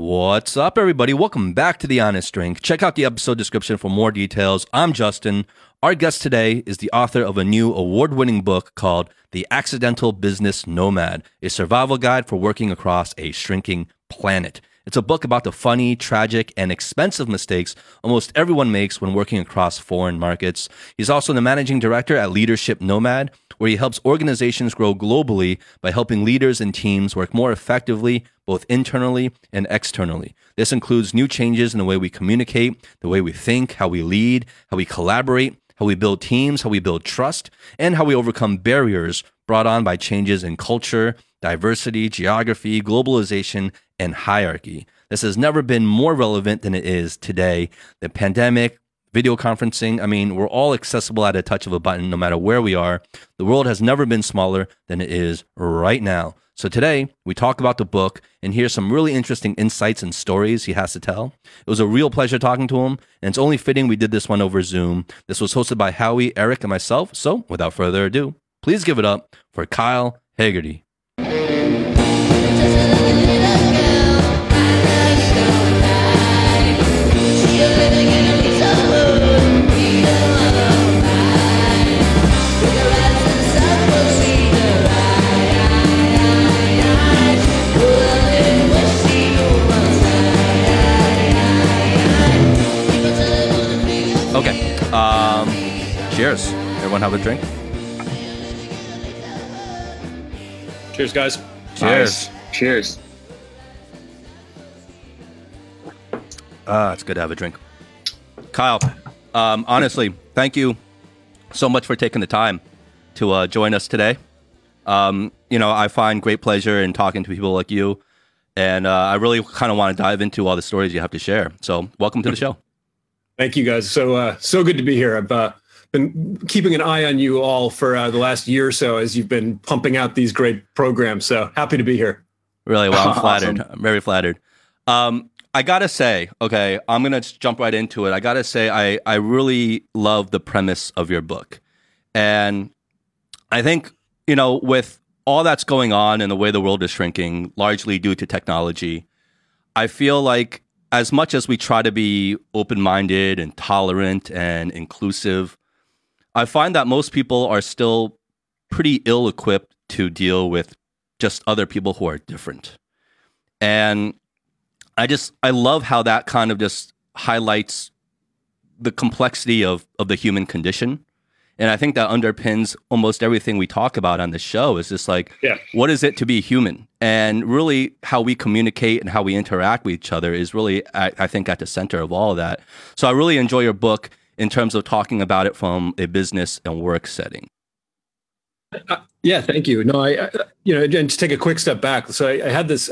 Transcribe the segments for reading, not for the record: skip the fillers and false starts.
What's up, everybody? Welcome back to The Honest Drink. Check out the episode description for more details. I'm Justin. Our guest today is the author of a new award-winning book called The Accidental Business Nomad, a survival guide for working across a shrinking planet. It's a book about the funny, tragic, and expensive mistakes almost everyone makes when working across foreign markets. He's also the managing director at Leadership Nomad, where he helps organizations grow globally by helping leaders and teams work more effectively, both internally and externally. This includes new changes in the way we communicate, the way we think, how we lead, how we collaborate, how we build teams, how we build trust, and how we overcome barriers brought on by changes in culture, diversity, geography, globalization, and hierarchy. This has never been more relevant than it is today. The pandemic, video conferencing, we're all accessible at a touch of a button no matter where we are. The world has never been smaller than it is right now. So today, we talk about the book and hear some really interesting insights and stories he has to tell. It was a real pleasure talking to him, and it's only fitting we did this one over Zoom. This was hosted by Howie, Eric, and myself. So without further ado, please give it up for Kyle Haggerty. Okay. Cheers. Everyone have a drink? Cheers, guys. Cheers. Cheers. It's good to have a drink. Kyle, honestly, thank you so much for taking the time to join us today. I find great pleasure in talking to people like you, and I really kind of want to dive into all the stories you have to share. So welcome to the show. Thank you, guys. So good to be here. I've been keeping an eye on you all for the last year or so as you've been pumping out these great programs. So happy to be here. Really? Well, I'm flattered. Awesome. I'm very flattered. I got to say, okay, I'm going to jump right into it. I got to say, I really love the premise of your book. And I think, with all that's going on and the way the world is shrinking, largely due to technology, I feel like as much as we try to be open-minded and tolerant and inclusive, I find that most people are still pretty ill-equipped to deal with just other people who are different. And I love how that kind of just highlights the complexity of the human condition. And I think that underpins almost everything we talk about on the show is just like, What is it to be human? And really how we communicate and how we interact with each other is really, I think, at the center of all of that. So I really enjoy your book in terms of talking about it from a business and work setting. Yeah, thank you. No, and to take a quick step back. So I had this,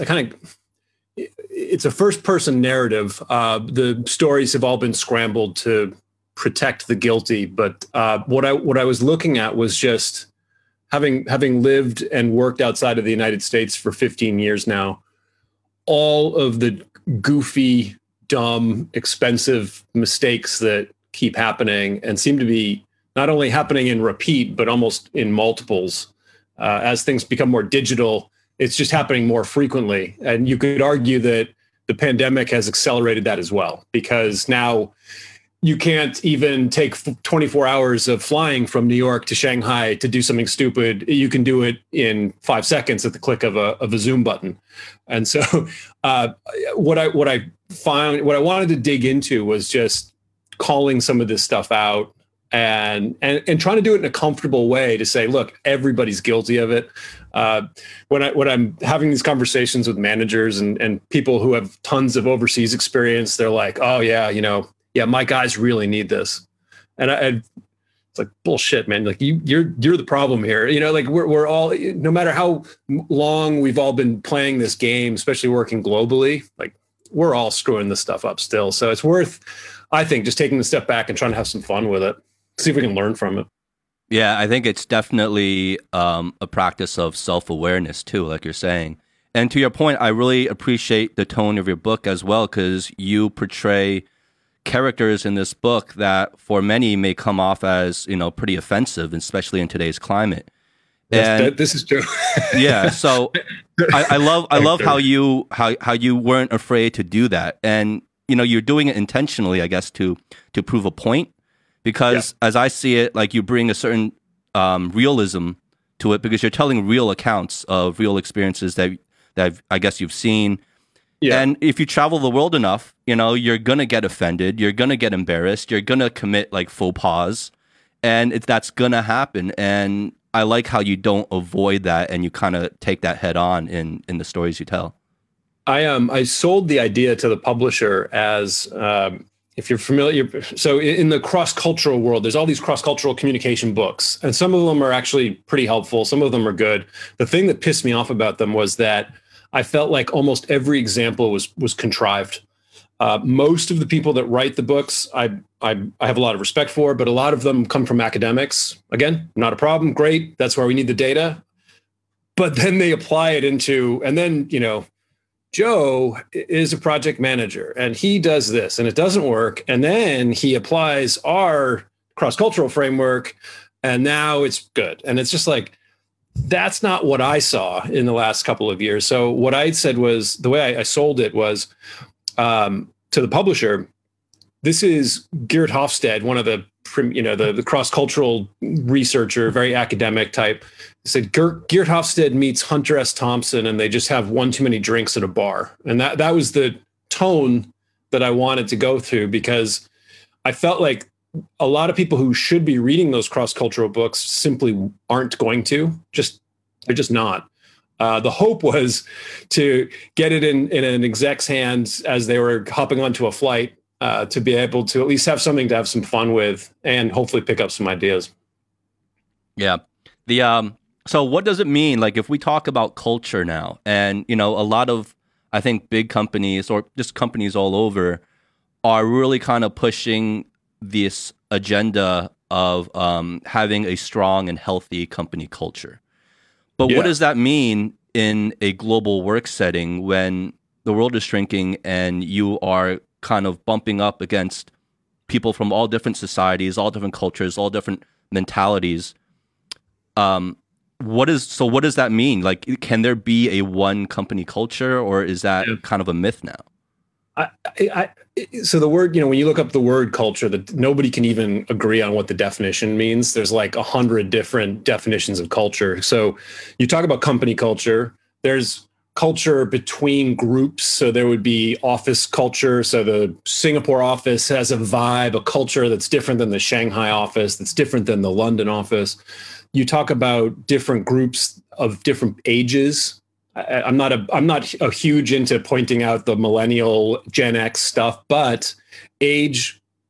it's a first person narrative. The stories have all been scrambled to protect the guilty. But what I was looking at was just having lived and worked outside of the United States for 15 years now, all of the goofy, dumb, expensive mistakes that keep happening and seem to be not only happening in repeat, but almost in multiples. As things become more digital, it's just happening more frequently. And you could argue that the pandemic has accelerated that as well, because now you can't even take 24 hours of flying from New York to Shanghai to do something stupid. You can do it in 5 seconds at the click of a Zoom button. And so what I wanted to dig into was just calling some of this stuff out and trying to do it in a comfortable way to say, look, everybody's guilty of it. When I'm having these conversations with managers and people who have tons of overseas experience, they're like, oh yeah, my guys really need this. And it's like, bullshit, man. Like you're the problem here. Like we're all, no matter how long we've all been playing this game, especially working globally, like we're all screwing this stuff up still. So it's worth, I think, just taking a step back and trying to have some fun with it. See if we can learn from it. Yeah, I think it's definitely a practice of self-awareness too, like you're saying. And to your point, I really appreciate the tone of your book as well, because you portray characters in this book that for many may come off as, pretty offensive, especially in today's climate. This is true. Yeah, so I love how you weren't afraid to do that, and you're doing it intentionally, I guess, to prove a point, because as I see it, like, you bring a certain realism to it, because you're telling real accounts of real experiences that I guess you've seen. Yeah. And if you travel the world enough, you're gonna get offended, you're gonna get embarrassed, you're gonna commit like faux pas, and that's gonna happen. And I like how you don't avoid that, and you kind of take that head on in the stories you tell. I sold the idea to the publisher as, if you're familiar, so in the cross-cultural world, there's all these cross-cultural communication books, and some of them are actually pretty helpful. Some of them are good. The thing that pissed me off about them was that I felt like almost every example was contrived. Most of the people that write the books, I have a lot of respect for, but a lot of them come from academics. Again, not a problem. Great. That's where we need the data. But then they apply it into, and then, Joe is a project manager and he does this and it doesn't work. And then he applies our cross-cultural framework and now it's good. And it's just like, that's not what I saw in the last couple of years. So what I said was, the way I sold it was, to the publisher, this is Geert Hofstede, one of the cross-cultural researcher, very academic type. He said Geert Hofstede meets Hunter S. Thompson and they just have one too many drinks at a bar. And that was the tone that I wanted to go through, because I felt like a lot of people who should be reading those cross-cultural books simply aren't going to. They're just not. The hope was to get it in an exec's hands as they were hopping onto a flight, to be able to at least have something to have some fun with and hopefully pick up some ideas. Yeah. So what does it mean? Like, if we talk about culture now, and, a lot of, I think, big companies or just companies all over are really kind of pushing this agenda of having a strong and healthy company culture. But what does that mean in a global work setting when the world is shrinking and you are kind of bumping up against people from all different societies, all different cultures, all different mentalities? What does that mean? Like, can there be a one company culture, or is that kind of a myth now? So the word, when you look up the word culture, that nobody can even agree on what the definition means. There's like 100 different definitions of culture. So you talk about company culture, there's culture between groups. So there would be office culture. So the Singapore office has a vibe, a culture that's different than the Shanghai office, that's different than the London office. You talk about different groups of different ages. I'm not a huge into pointing out the millennial Gen X stuff, but I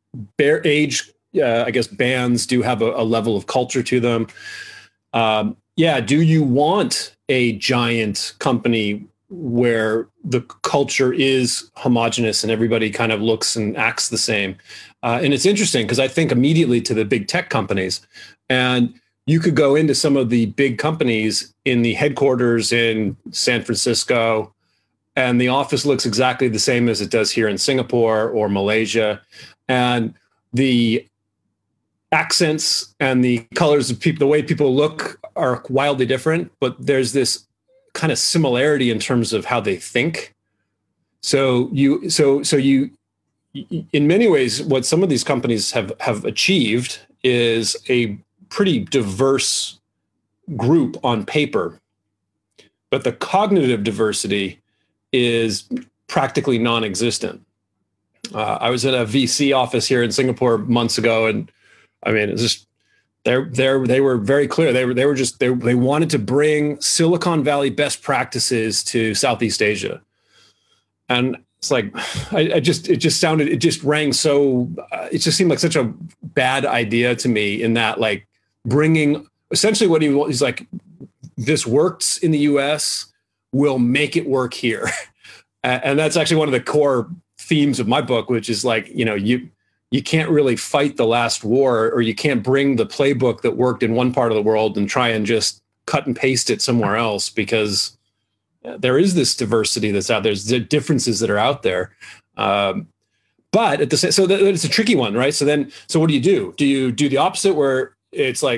guess bands do have a level of culture to them. Do you want a giant company where the culture is homogenous and everybody kind of looks and acts the same? And it's interesting because I think immediately to the big tech companies, and you could go into some of the big companies in the headquarters in San Francisco, and the office looks exactly the same as it does here in Singapore or Malaysia. And the accents and the colors of people, the way people look, are wildly different, but there's this kind of similarity in terms of how they think. So you, in many ways, what some of these companies have achieved is a pretty diverse group on paper, but the cognitive diversity is practically non-existent. I was in a VC office here in Singapore months ago, and I mean, it's just they were very clear. They wanted to bring Silicon Valley best practices to Southeast Asia, and it's like it just rang so. It just seemed like such a bad idea to me. In that, like, bringing essentially what he's like, this works in the US, we'll make it work here. And that's actually one of the core themes of my book, which is like, you can't really fight the last war, or you can't bring the playbook that worked in one part of the world and try and just cut and paste it somewhere else, because there is this diversity that's out there. There's the differences that are out there. But at the same, so it's a tricky one, right? So what do? Do you do the opposite, where it's like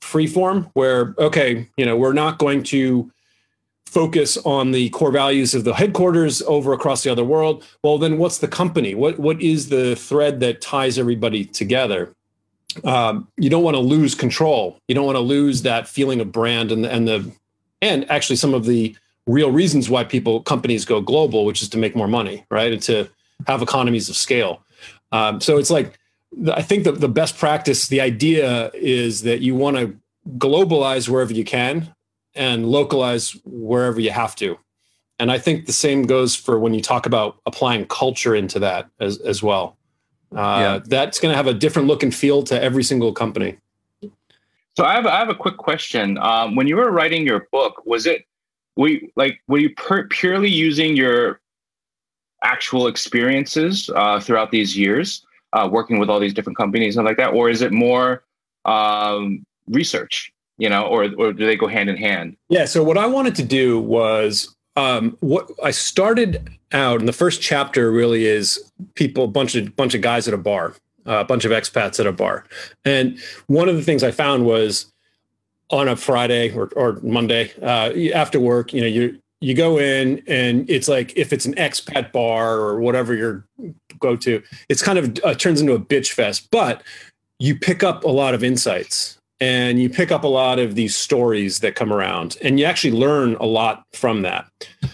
free form where, okay, we're not going to focus on the core values of the headquarters over across the other world. Well, then what's the company? What is the thread that ties everybody together? You don't want to lose control. You don't want to lose that feeling of brand and actually some of the real reasons why companies go global, which is to make more money, right? And to have economies of scale. So it's like, I think the best practice, the idea is that you want to globalize wherever you can and localize wherever you have to. And I think the same goes for when you talk about applying culture into that as well. That's going to have a different look and feel to every single company. So I have a quick question. When you were writing your book, were you purely using your actual experiences throughout these years, working with all these different companies and like that, or is it more research? Or do they go hand in hand? Yeah. So what I wanted to do was what I started out in the first chapter really is a bunch of guys at a bar, a bunch of expats at a bar. And one of the things I found was on a Friday or Monday after work, you go in and it's like, if it's an expat bar or whatever you go to, it's kind of turns into a bitch fest, but you pick up a lot of insights. And you pick up a lot of these stories that come around, and you actually learn a lot from that.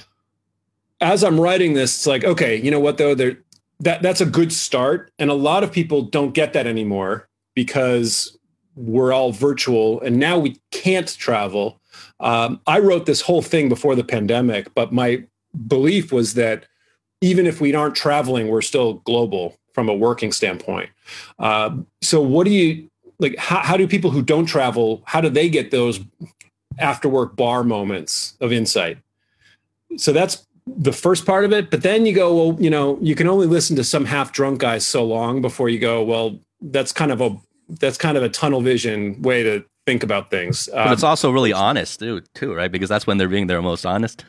As I'm writing this, it's like, okay, you know what though? That's a good start, and a lot of people don't get that anymore because we're all virtual, and now we can't travel. I wrote this whole thing before the pandemic, but my belief was that even if we aren't traveling, we're still global from a working standpoint. So what do you? Like, how do people who don't travel, how do they get those after work bar moments of insight? So that's the first part of it. But then you go, well, you can only listen to some half drunk guys so long before you go, well, that's kind of a tunnel vision way to think about things. But it's also really honest too, right? Because that's when they're being their most honest.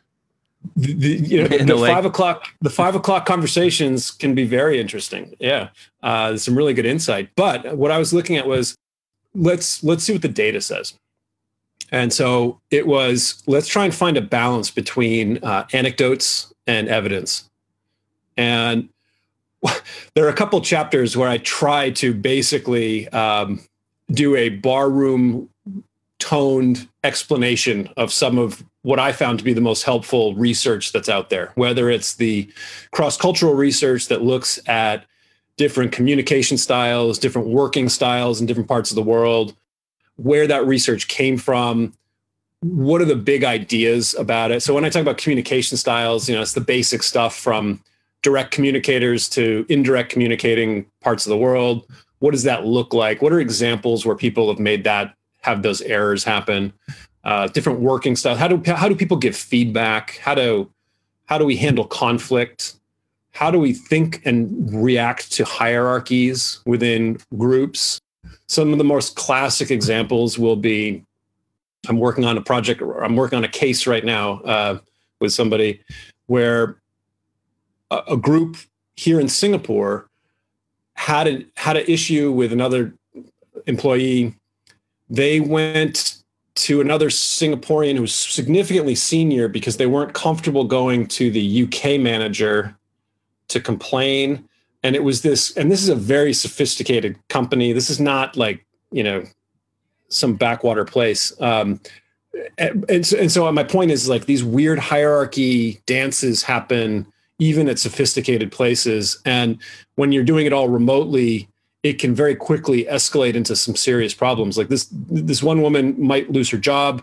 The 5 o'clock conversations can be very interesting. Yeah. There's some really good insight. But what I was looking at was, let's see what the data says. And so it was, let's try and find a balance between anecdotes and evidence. And there are a couple chapters where I try to basically do a barroom toned explanation of some of what I found to be the most helpful research that's out there, whether it's the cross-cultural research that looks at different communication styles, different working styles in different parts of the world, where that research came from, what are the big ideas about it. So when I talk about communication styles, it's the basic stuff from direct communicators to indirect communicating parts of the world. What does that look like? What are examples where people have those errors happen? Different working styles. How do people give feedback? How do we handle conflict? How do we think and react to hierarchies within groups? Some of the most classic examples will be, I'm working on a case right now with somebody where a group here in Singapore had an issue with another employee. They went to another Singaporean who was significantly senior because they weren't comfortable going to the UK manager to complain. And it was this is a very sophisticated company. This is not like, some backwater place. And so my point is, like, these weird hierarchy dances happen even at sophisticated places. And when you're doing it all remotely, it can very quickly escalate into some serious problems. Like this one woman might lose her job.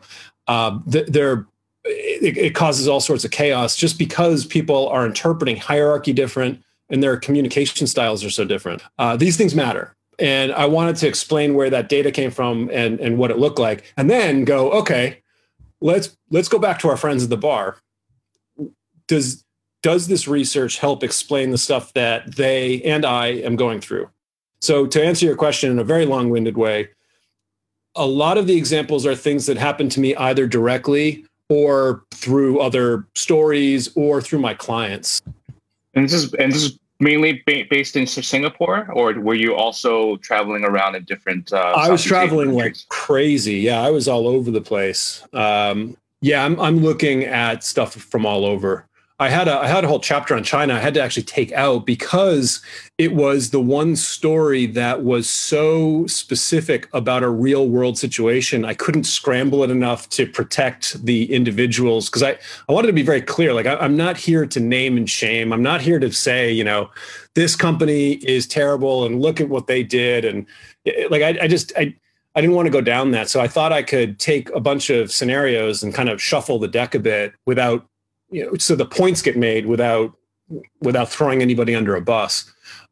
It causes all sorts of chaos just because people are interpreting hierarchy different and their communication styles are so different. These things matter. And I wanted to explain where that data came from and what it looked like, and then go, okay, let's go back to our friends at the bar. Does this research help explain the stuff that they and I am going through? So to answer your question in a very long-winded way, a lot of the examples are things that happen to me either directly or through other stories or through my clients. And this is mainly based in Singapore, or were you also traveling around in different? I was traveling like countries? crazy. Yeah, I was all over the place. Yeah, I'm looking at stuff from all over. I had a whole chapter on China I had to actually take out because it was the one story that was so specific about a real world situation. I couldn't scramble it enough to protect the individuals because I wanted to be very clear. Like I'm not here to name and shame. I'm not here to say, you know, this company is terrible and look at what they did. And like I didn't want to go down that. So I thought I could take a bunch of scenarios and kind of shuffle the deck a bit without, you know, so the points get made without throwing anybody under a bus.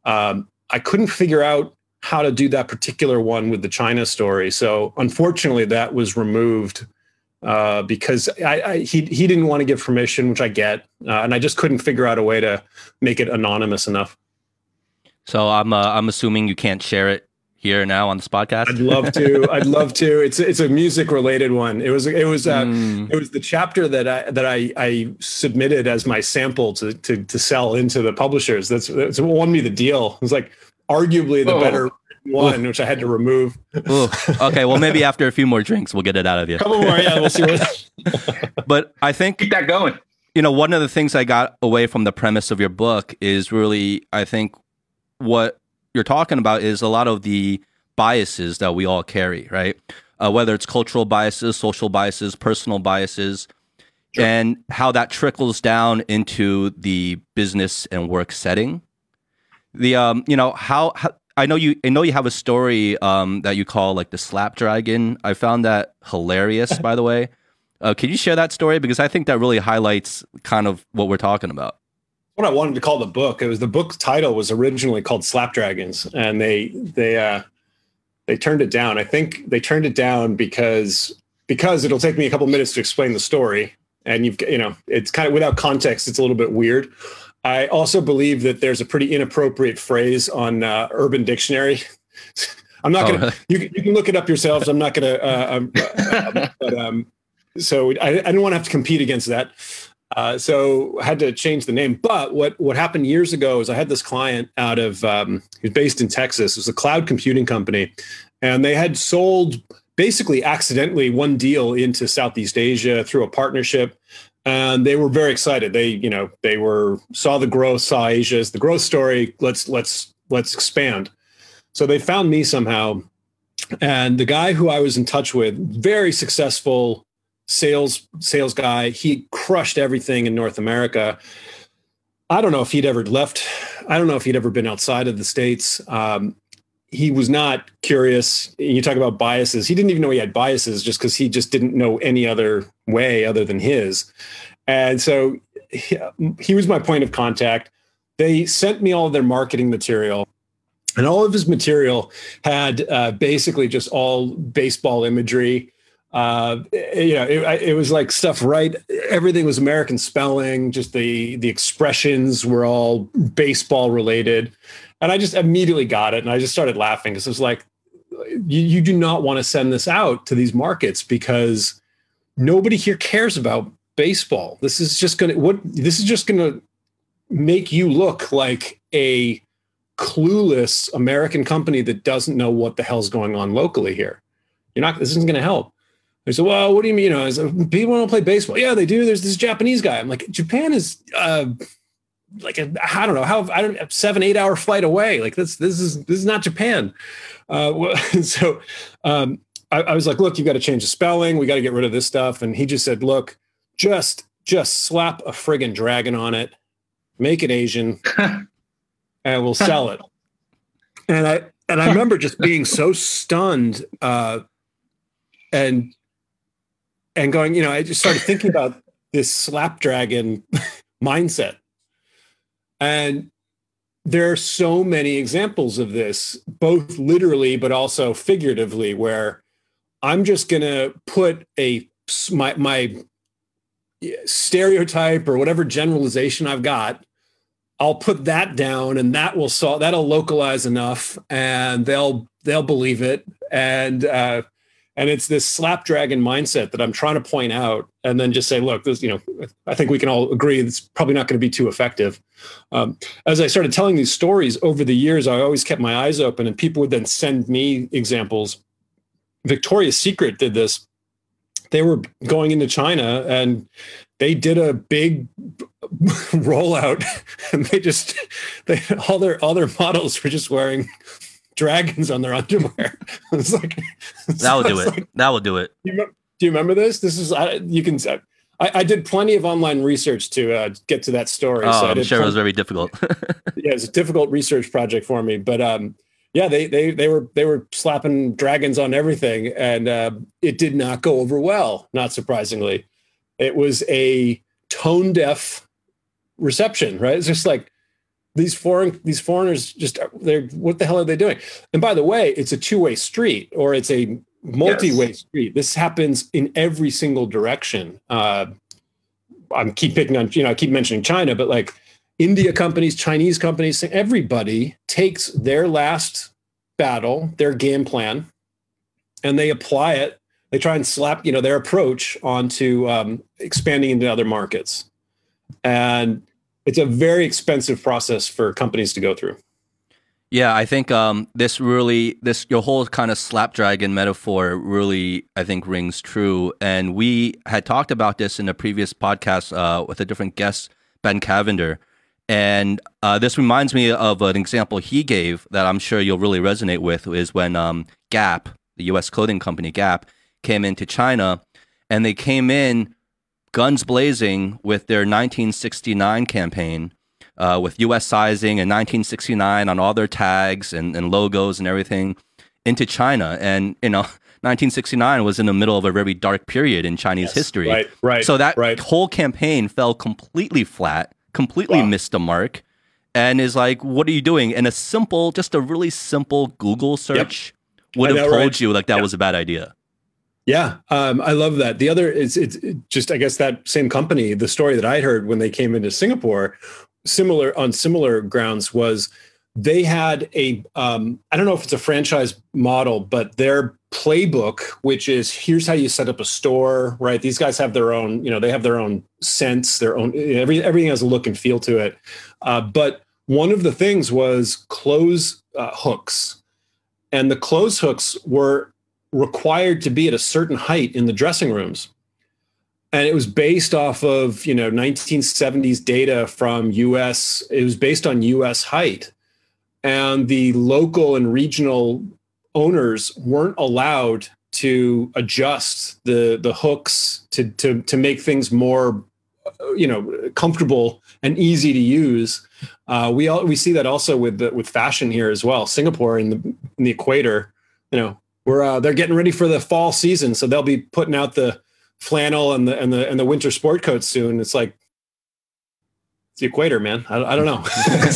I couldn't figure out how to do that particular one with the China story. So unfortunately that was removed because he didn't want to give permission, which I get. And I just couldn't figure out a way to make it anonymous enough. So I'm assuming you can't share it here now on this podcast. I'd love to. It's a music related one. It was the chapter that I submitted as my sample to sell into the publishers. That's what won me the deal. It was like arguably the better one, which I had to remove. Okay, well maybe after a few more drinks we'll get it out of you. Couple more, yeah, we'll see what. But I think Keep that going. You know, one of the things I got away from the premise of your book is really, I think, what you're talking about is a lot of the biases that we all carry, right? Whether it's cultural biases, social biases, personal biases, sure, and how that trickles down into the business and work setting. The you know, how I know you have a story that you call like the Slapdragon. I found that hilarious, by the way. Can you share that story? Because I think that really highlights kind of what we're talking about. What I wanted to call the book. It was the book's title was originally called Slapdragons, and they turned it down. I think they turned it down because it'll take me a couple minutes to explain the story, and it's kind of without context. It's a little bit weird. I also believe that there's a pretty inappropriate phrase on Urban Dictionary. I'm not gonna. Really? You can look it up yourselves. I'm not gonna. So I didn't want to have to compete against that. So I had to change the name. But what happened years ago is I had this client out of, he was based in Texas. It was a cloud computing company. And they had sold basically accidentally one deal into Southeast Asia through a partnership. And they were very excited. They saw the growth, saw Asia as the growth story. Let's expand. So they found me somehow. And the guy who I was in touch with, very successful sales guy. He crushed everything in North America. I don't know if he'd ever left. I don't know if he'd ever been outside of the States. He was not curious. You talk about biases. He didn't even know he had biases just because he just didn't know any other way other than his. And so he was my point of contact. They sent me all of their marketing material. And all of his material had basically just all baseball imagery. It was like stuff, right? Everything was American spelling. Just the expressions were all baseball related. And I just immediately got it. And I just started laughing because it was like, you do not want to send this out to these markets because nobody here cares about baseball. This is just going to make you look like a clueless American company that doesn't know what the hell's going on locally here. This isn't going to help. They said, well, what do you mean? I said, people want to play baseball. Yeah, they do. There's this Japanese guy. I'm like, Japan is like a 7-8 hour flight away. Like this is not Japan. I was like, look, you got to change the spelling. We got to get rid of this stuff. And he just said, look, just slap a friggin' dragon on it, make it Asian, and we'll sell it. And I remember just being so stunned and going, I just started thinking about this Slapdragon mindset. And there are so many examples of this, both literally, but also figuratively, where I'm just going to put my stereotype or whatever generalization I've got, I'll put that down and that'll localize enough and they'll believe it. And And it's this slapdragon mindset that I'm trying to point out, and then just say, look, this, I think we can all agree it's probably not going to be too effective. As I started telling these stories over the years, I always kept my eyes open, and people would then send me examples. Victoria's Secret did this. They were going into China and they did a big rollout, and all their models were just wearing dragons on their underwear. It's like that will do it. Like, that will do it. Do you remember this? This is you can. I did plenty of online research to get to that story. Oh, so I'm sure it was very difficult. Yeah, it was a difficult research project for me, but yeah, they were slapping dragons on everything, and it did not go over well. Not surprisingly, it was a tone deaf reception. Right? It's just like these foreigners what the hell are they doing? And by the way, it's a two-way street, or it's a multi-way street. This happens in every single direction. I keep picking on, I keep mentioning China, but like India companies, Chinese companies, everybody takes their last battle, their game plan, and they apply it. They try and slap, their approach onto expanding into other markets. And it's a very expensive process for companies to go through. Yeah, I think your whole kind of slapdragon metaphor really, I think, rings true. And we had talked about this in a previous podcast with a different guest, Ben Cavender. And this reminds me of an example he gave that I'm sure you'll really resonate with, is when Gap, the U.S. clothing company Gap, came into China, and they came in guns blazing with their 1969 campaign. With U.S. sizing and 1969 on all their tags and logos and everything into China. And, 1969 was in the middle of a very dark period in Chinese history. Right. So that whole campaign fell completely flat, completely missed the mark, and is like, what are you doing? And just a really simple Google search would have told you like that was a bad idea. Yeah, I love that. The other is it's just, I guess, that same company, the story that I heard when they came into Singapore, similar grounds, was they had I don't know if it's a franchise model, but their playbook, which is here's how you set up a store, right? These guys have their own, they have their own sense, their own, everything has a look and feel to it. But one of the things was clothes hooks, and the clothes hooks were required to be at a certain height in the dressing rooms. And it was based off of, 1970s data from US. It was based on US height. And the local and regional owners weren't allowed to adjust the hooks to make things more, comfortable and easy to use. We see that also with fashion here as well. Singapore in the equator, they're getting ready for the fall season, so they'll be putting out the flannel and the winter sport coats soon. It's like, it's the equator, man. I don't know.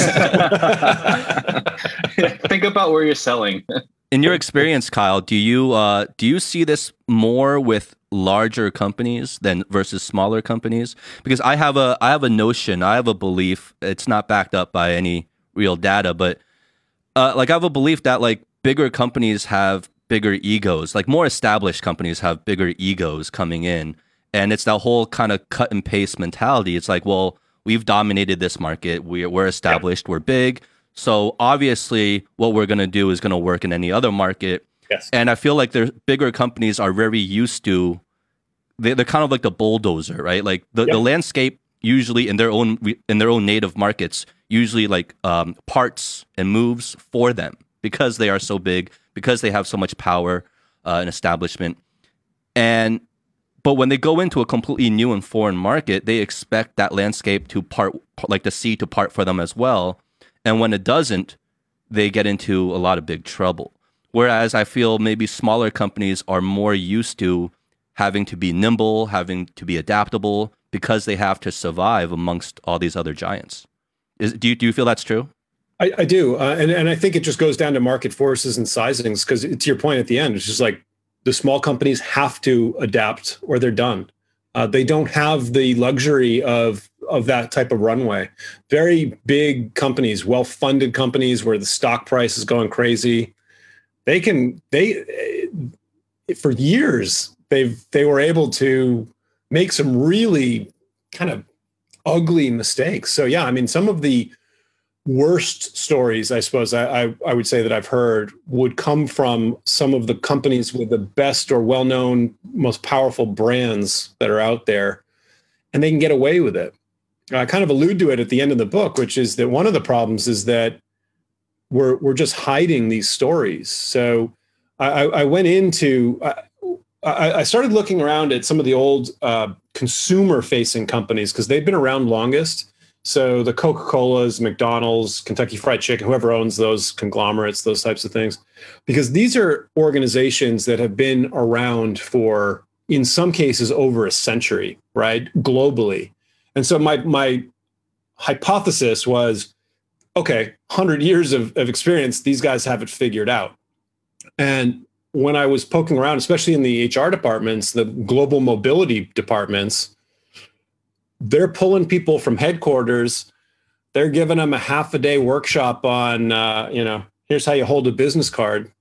Think about where you're selling. In your experience, Kyle, do you see this more with larger companies than versus smaller companies? Because I have a notion, I have a belief. It's not backed up by any real data, but I have a belief that like bigger companies have bigger egos, like more established companies have bigger egos coming in. And it's that whole kind of cut and paste mentality. It's like, well, we've dominated this market. We're established. We're big. So obviously what we're going to do is going to work in any other market. Yes. And I feel like the bigger companies are very used to, they're kind of like the bulldozer, right? Like the landscape usually in their own native markets, usually like parts and moves for them because they are so big, because they have so much power and establishment. But when they go into a completely new and foreign market, they expect that landscape to part, like the sea to part for them as well. And when it doesn't, they get into a lot of big trouble. Whereas I feel maybe smaller companies are more used to having to be nimble, having to be adaptable, because they have to survive amongst all these other giants. Do you feel that's true? I do. And I think it just goes down to market forces and sizings, because to your point at the end, it's just like the small companies have to adapt or they're done. They don't have the luxury of that type of runway. Very big companies, well-funded companies where the stock price is going crazy. If for years, they were able to make some really kind of ugly mistakes. So yeah, I mean, some of the worst stories, I suppose I would say that I've heard would come from some of the companies with the best or well-known, most powerful brands that are out there, and they can get away with it. I kind of allude to it at the end of the book, which is that one of the problems is that we're just hiding these stories. So I went into, I started looking around at some of the old consumer-facing companies because they've been around longest. So the Coca-Colas, McDonald's, Kentucky Fried Chicken, whoever owns those conglomerates, those types of things, because these are organizations that have been around for, in some cases, over a century, right, globally. And so my hypothesis was, okay, 100 years of experience, these guys have it figured out. And when I was poking around, especially in the HR departments, the global mobility departments, they're pulling people from headquarters. They're giving them a half a day workshop on, here's how you hold a business card.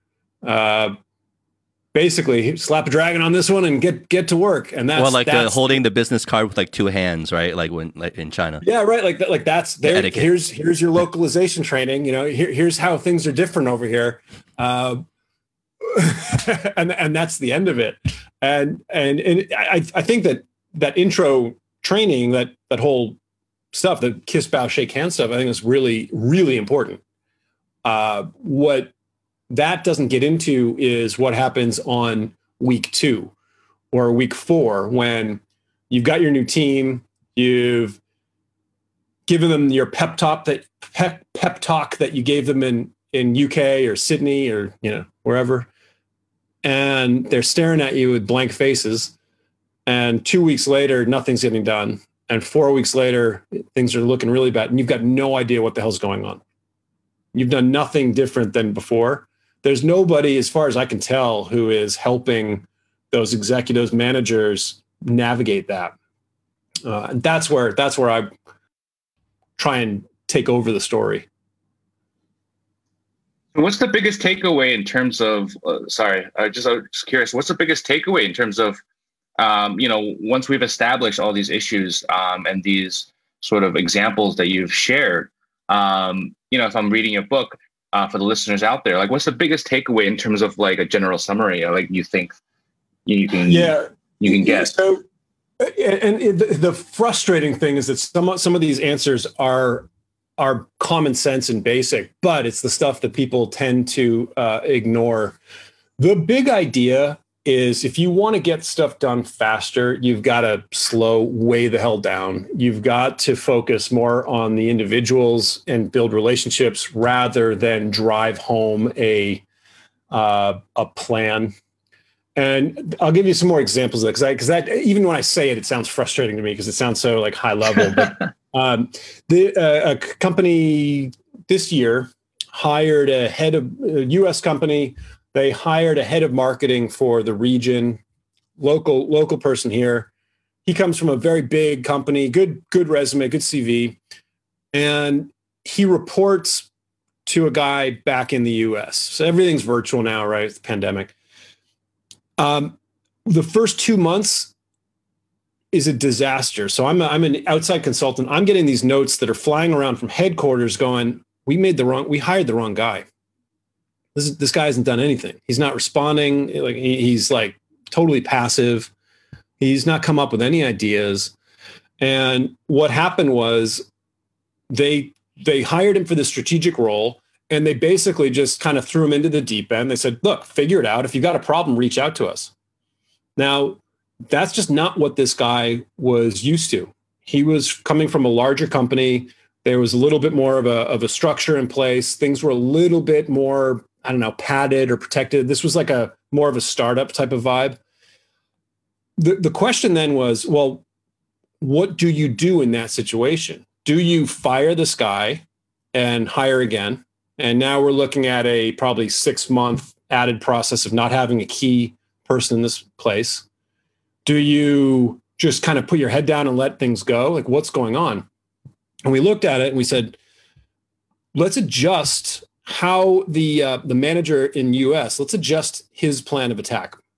Basically, slap a dragon on this one and get to work. And that's holding the business card with like two hands, right? Like in China. Yeah, right. Like that's there. Here's your localization training. Here's how things are different over here. And that's the end of it. And I think that intro training, that whole stuff, the kiss, bow, shake hand stuff, I think is really, really important. What that doesn't get into is what happens on week 2 or week 4 when you've got your new team, you've given them your pep talk that you gave them in UK or Sydney or wherever, and they're staring at you with blank faces. And 2 weeks later, nothing's getting done. And 4 weeks later, things are looking really bad. And you've got no idea what the hell's going on. You've done nothing different than before. There's nobody, as far as I can tell, who is helping those executives, managers navigate that. And that's where I try and take over the story. What's the biggest takeaway in terms of, I was just curious, what's the biggest takeaway in terms of, once we've established all these issues and these sort of examples that you've shared, if I'm reading your book for the listeners out there, like what's the biggest takeaway in terms of like a general summary, like you think you can get? So, and the frustrating thing is that some of these answers are common sense and basic, but it's the stuff that people tend to ignore. The big idea is if you want to get stuff done faster, you've got to slow way the hell down. You've got to focus more on the individuals and build relationships rather than drive home a plan. And I'll give you some more examples of that because that even when I say it, it sounds frustrating to me because it sounds so like high level. But a company this year hired a head of a U.S. company. They hired a head of marketing for the region, local person here. He comes from a very big company, good resume, good CV. And he reports to a guy back in the US. So everything's virtual now, right? It's the pandemic. The first 2 months is a disaster. So I'm an outside consultant. I'm getting these notes that are flying around from headquarters going, we hired the wrong guy. This guy hasn't done anything. He's not responding. Like he's like totally passive. He's not come up with any ideas. And what happened was they hired him for the strategic role, and they basically just kind of threw him into the deep end. They said, "Look, figure it out. If you got a problem, reach out to us." Now, that's just not what this guy was used to. He was coming from a larger company. There was a little bit more of a structure in place. Things were a little bit more, I don't know, padded or protected. This was like a more of a startup type of vibe. The question then was, well, what do you do in that situation? Do you fire this guy and hire again? And now we're looking at a probably 6-month added process of not having a key person in this place. Do you just kind of put your head down and let things go? Like, what's going on? And we looked at it and we said, let's adjust how the manager in US, let's adjust his plan of attack.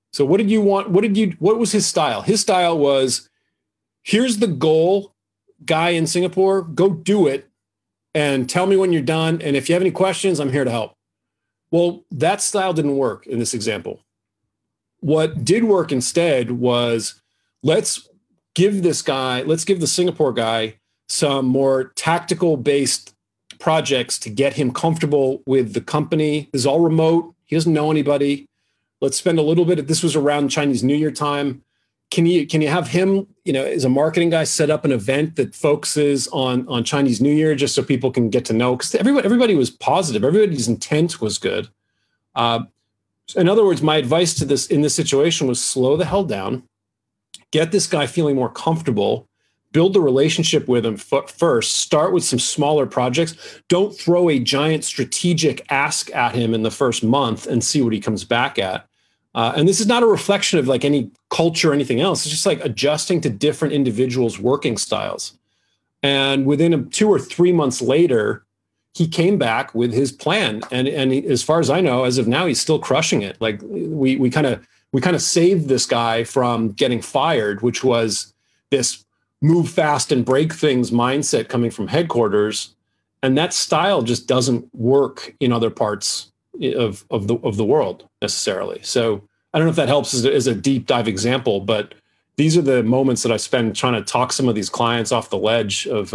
So what did you want? What was his style? His style was, here's the goal, guy in Singapore, go do it and tell me when you're done. And if you have any questions, I'm here to help. Well, that style didn't work in this example. What did work instead was, let's give the Singapore guy some more tactical based projects to get him comfortable with the company. This is all remote. He doesn't know anybody. Let's spend a little bit. This was around Chinese New Year time. Can you have him, as a marketing guy, set up an event that focuses on Chinese New Year, just so people can get to know? Because everybody was positive. Everybody's intent was good. In other words, my advice to this in this situation was, slow the hell down, get this guy feeling more comfortable, build the relationship with him first, start with some smaller projects. Don't throw a giant strategic ask at him in the first month and see what he comes back at. And this is not a reflection of like any culture or anything else. It's just like adjusting to different individuals' working styles. And within 2 or 3 months later, he came back with his plan. And as far as I know, as of now, he's still crushing it. Like we kind of saved this guy from getting fired, which was this move fast and break things mindset coming from headquarters. And that style just doesn't work in other parts of the world necessarily. So I don't know if that helps as a deep dive example, but these are the moments that I spend trying to talk some of these clients off the ledge of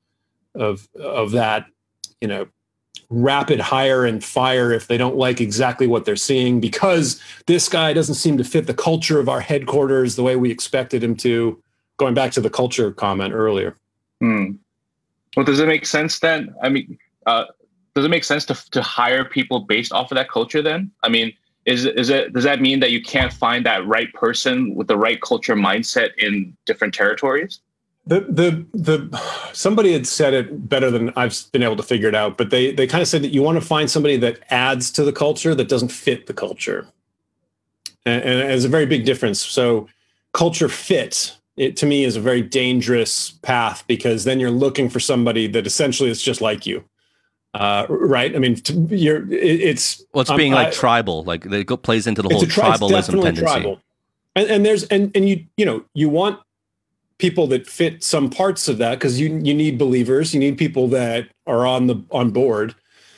that, rapid hire and fire if they don't like exactly what they're seeing, because this guy doesn't seem to fit the culture of our headquarters the way we expected him to, going back to the culture comment earlier. Well, does it make sense then? I mean, does it make sense to hire people based off of that culture then? I mean, does that mean that you can't find that right person with the right culture mindset in different territories? Somebody had said it better than I've been able to figure it out, but they kind of said that you want to find somebody that adds to the culture, that doesn't fit the culture. And it's a very big difference. So culture fit, it to me is a very dangerous path, because then you're looking for somebody that essentially is just like you. Right? I mean, it's being like tribal, like it plays into the whole tribalism tendency. Tribal. And you want people that fit some parts of that, because you need believers, you need people that are on board.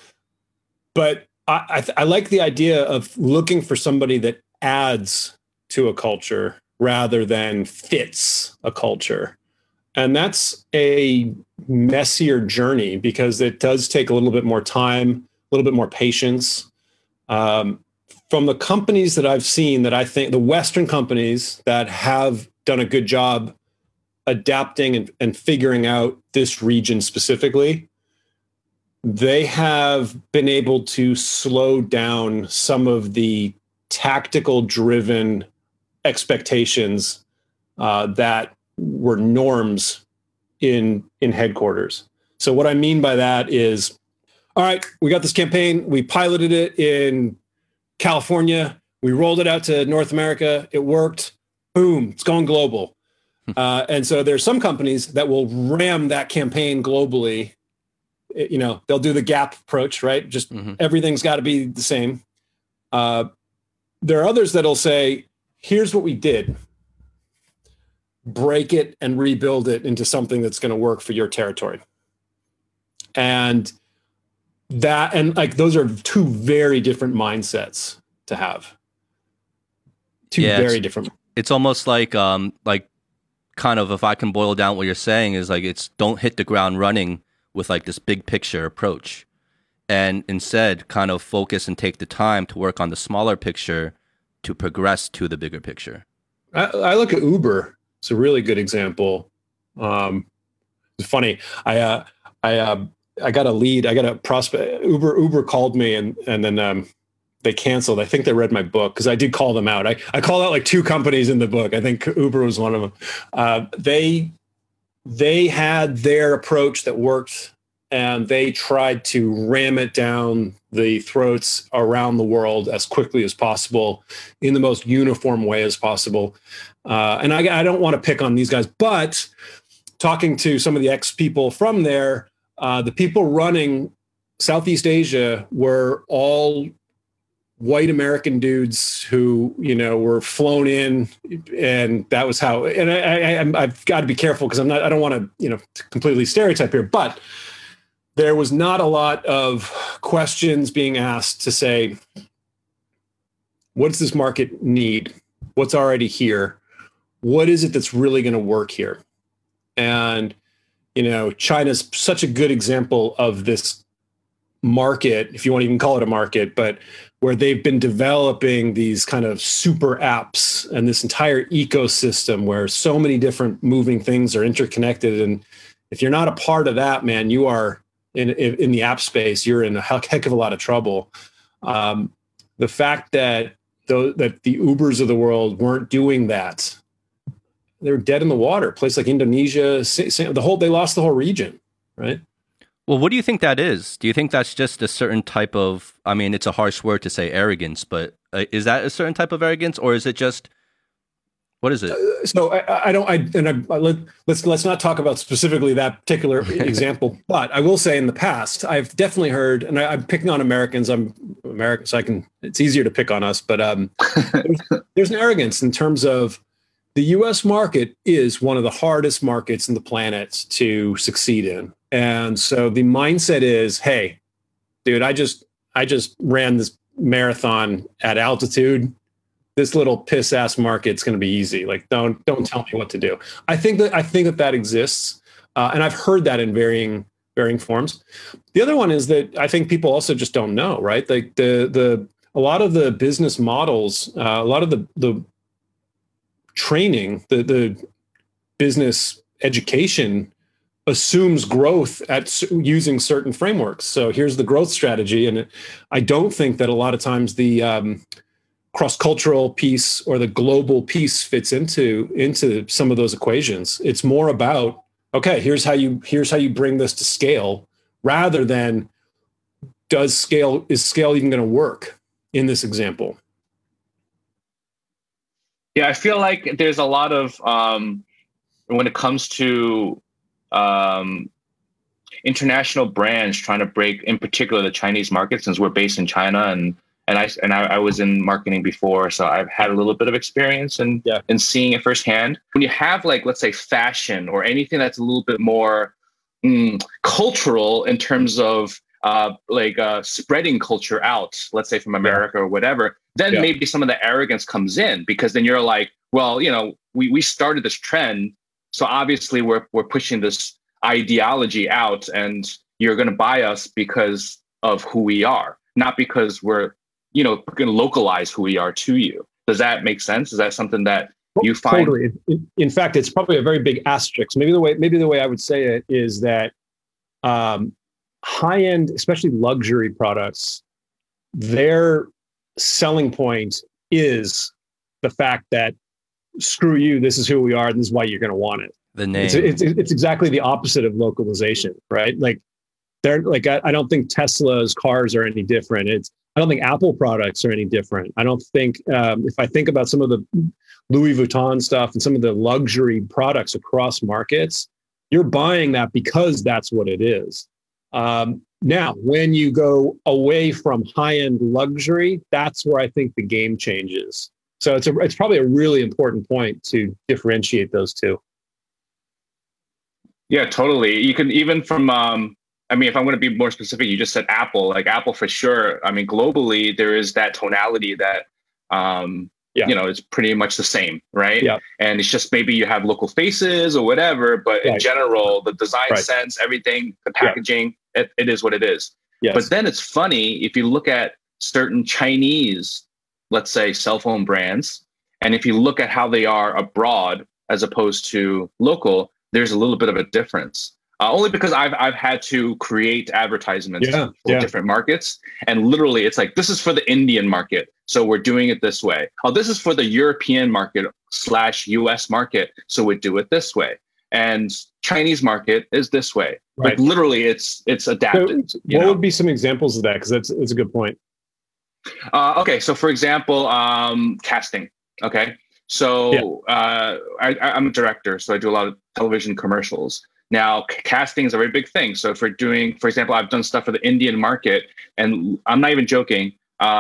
But I like the idea of looking for somebody that adds to a culture rather than fits a culture. And that's a messier journey, because it does take a little bit more time, a little bit more patience. From the companies that I've seen, that I think the Western companies that have done a good job adapting and figuring out this region specifically, they have been able to slow down some of the tactical driven expectations that were norms in headquarters. So what I mean by that is, all right, we got this campaign, we piloted it in California, we rolled it out to North America, it worked, boom, it's going global. And so there's some companies that will ram that campaign globally. They'll do the gap approach, right? Just everything's got to be the same. There are others that'll say, here's what we did. Break it and rebuild it into something that's going to work for your territory. And those are two very different mindsets to have. Very different. It's almost like kind of, if I can boil down what you're saying, is like, it's don't hit the ground running with like this big picture approach, and instead kind of focus and take the time to work on the smaller picture to progress to the bigger picture. I look at Uber. It's a really good example. It's funny. I got a lead. I got a prospect. Uber called me, and then they canceled. I think they read my book, because I did call them out. I called out like 2 companies in the book. I think Uber was one of them. They had their approach that worked, and they tried to ram it down the throats around the world as quickly as possible in the most uniform way as possible. And I don't want to pick on these guys, but talking to some of the ex-people from there, the people running Southeast Asia were all white American dudes who, were flown in, and that was how. And I've got to be careful because I don't want to, completely stereotype here, but there was not a lot of questions being asked to say, what does this market need? What's already here? What is it that's really going to work here? And, China's such a good example of this market, if you want to even call it a market, but where they've been developing these kind of super apps and this entire ecosystem where so many different moving things are interconnected. And if you're not a part of that, man, you are in the app space, you're in a heck of a lot of trouble. The fact that the Ubers of the world weren't doing that, they were dead in the water. A place like Indonesia, they lost the whole region, right? Well, what do you think that is? Do you think that's just a certain type of, I mean, it's a harsh word to say arrogance, but is that a certain type of arrogance, or is it just, what is it? Let's not talk about specifically that particular example, but I will say in the past, I've definitely heard, and I'm picking on Americans. I'm American, so it's easier to pick on us, but there's an arrogance in terms of the U.S. market is one of the hardest markets in the planet to succeed in. And so the mindset is, hey, dude, I just ran this marathon at altitude. This little piss ass market's going to be easy. Like, don't tell me what to do. I think that exists, and I've heard that in varying forms. The other one is that I think people also just don't know, right? Like a lot of the business models, a lot of the training, the business education assumes growth at using certain frameworks. So here's the growth strategy, and I don't think that a lot of times the cross-cultural piece or the global piece fits into some of those equations. It's more about, okay, here's how you bring this to scale, rather than is scale even going to work in this example? Yeah, I feel like there's a lot of when it comes to international brands trying to break, in particular, the Chinese market, since we're based in China, and I was in marketing before, so I've had a little bit of experience in seeing it firsthand. When you have, like, let's say fashion or anything that's a little bit more cultural in terms of spreading culture out, let's say from America or whatever, then maybe some of the arrogance comes in, because then you're like, well, we started this trend, so obviously we're pushing this ideology out, and you're going to buy us because of who we are, not because we're going to localize who we are to you. Does that make sense? Is that something that you find? Totally. In fact, it's probably a very big asterisk. Maybe the way I would say it is that high-end, especially luxury products, their selling point is the fact that, screw you, this is who we are, and this is why you're going to want it. The name. It's exactly the opposite of localization, right? Like, I don't think Tesla's cars are any different. I don't think Apple products are any different. I don't think, if I think about some of the Louis Vuitton stuff and some of the luxury products across markets, you're buying that because that's what it is. Now, when you go away from high-end luxury, that's where I think the game changes. So it's probably a really important point to differentiate those two. Yeah, totally. You can even from, if I'm going to be more specific, you just said Apple, like Apple for sure. I mean, globally, there is that tonality that, it's pretty much the same, right? Yeah. And it's just maybe you have local faces or whatever, but in general, the design sense, everything, the packaging, it is what it is. Yes. But then it's funny, if you look at certain Chinese, let's say, cell phone brands, and if you look at how they are abroad as opposed to local, there's a little bit of a difference. Only because I've had to create advertisements for different markets. And literally, it's like, this is for the Indian market, so we're doing it this way. Oh, this is for the European market / US market, so we do it this way. And Chinese market is this way. Right. Like, literally, it's adapted. So what would be some examples of that? Because that's a good point. Okay, so for example, casting. Okay, so I'm a director, so I do a lot of television commercials. Now, casting is a very big thing. So if we're doing, for example, I've done stuff for the Indian market, and I'm not even joking.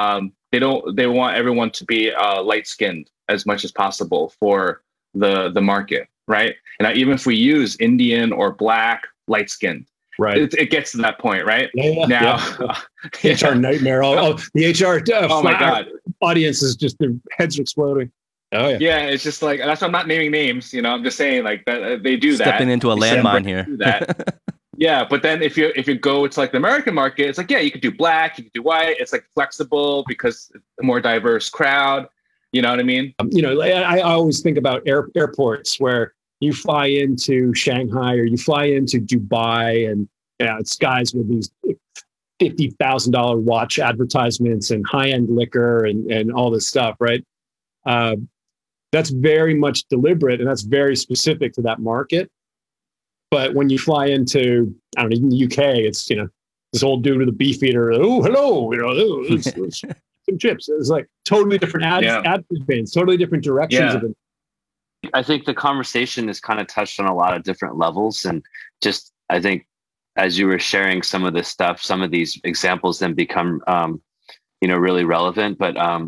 they want everyone to be light skinned as much as possible for the market, right? And even if we use Indian or Black, light skinned, right, it gets to that point, right? Yeah, Now, HR nightmare. The HR oh my God, audience is just, their heads are exploding. Oh yeah, yeah. It's just like, that's why I'm not naming names. I'm just saying like that they do Stepping into a landmine here. That. Yeah, but then if you go to like the American market, it's like, yeah, you could do Black, you could do white. It's like flexible because a more diverse crowd. You know what I mean? I always think about airports where you fly into Shanghai or you fly into Dubai, and it's guys with these $50,000 watch advertisements and high-end liquor and all this stuff, right? That's very much deliberate, and that's very specific to that market. But when you fly into, I don't know, even the UK, it's, this old dude with a beef eater. Oh, hello, some chips. It's like totally different ad campaigns, totally different directions of it. I think the conversation has kind of touched on a lot of different levels, and just, I think as you were sharing some of this stuff, some of these examples then become, really relevant. But I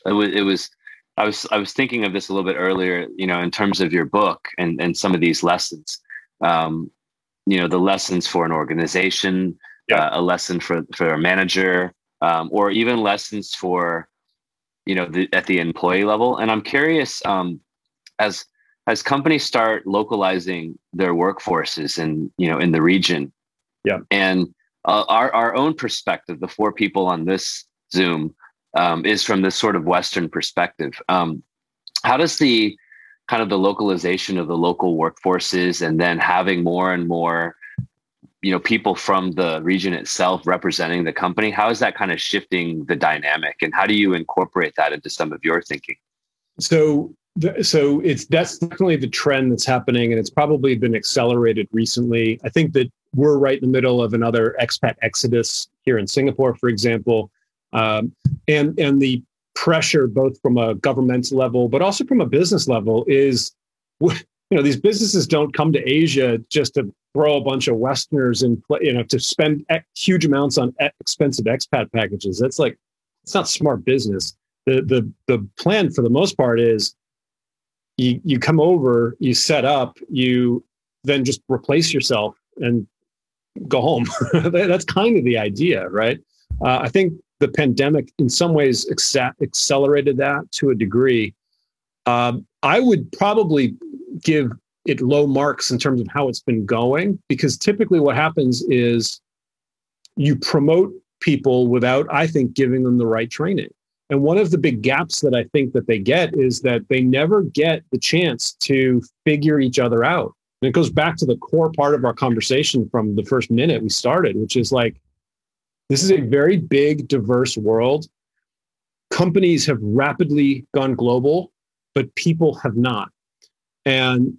was thinking of this a little bit earlier, in terms of your book and some of these lessons. The lessons for an organization, a lesson for a manager, or even lessons for, at the employee level. And I'm curious, as companies start localizing their workforces in the region, and our own perspective, the 4 people on this Zoom, is from this sort of Western perspective. How does the kind of the localization of the local workforces, and then having more and more, people from the region itself representing the company, how is that kind of shifting the dynamic, and how do you incorporate that into some of your thinking? So that's definitely the trend that's happening, and it's probably been accelerated recently. I think that we're right in the middle of another expat exodus here in Singapore, for example, and the pressure, both from a governmental level, but also from a business level, is, these businesses don't come to Asia just to throw a bunch of Westerners and, to spend huge amounts on expensive expat packages. That's like, it's not smart business. The plan for the most part is you come over, you set up, you then just replace yourself and go home. That's kind of the idea, right? I think the pandemic in some ways accelerated that to a degree. I would probably give it low marks in terms of how it's been going, because typically what happens is you promote people without, I think, giving them the right training. And one of the big gaps that I think that they get is that they never get the chance to figure each other out. And it goes back to the core part of our conversation from the first minute we started, which is like, this is a very big, diverse world. Companies have rapidly gone global, but people have not. And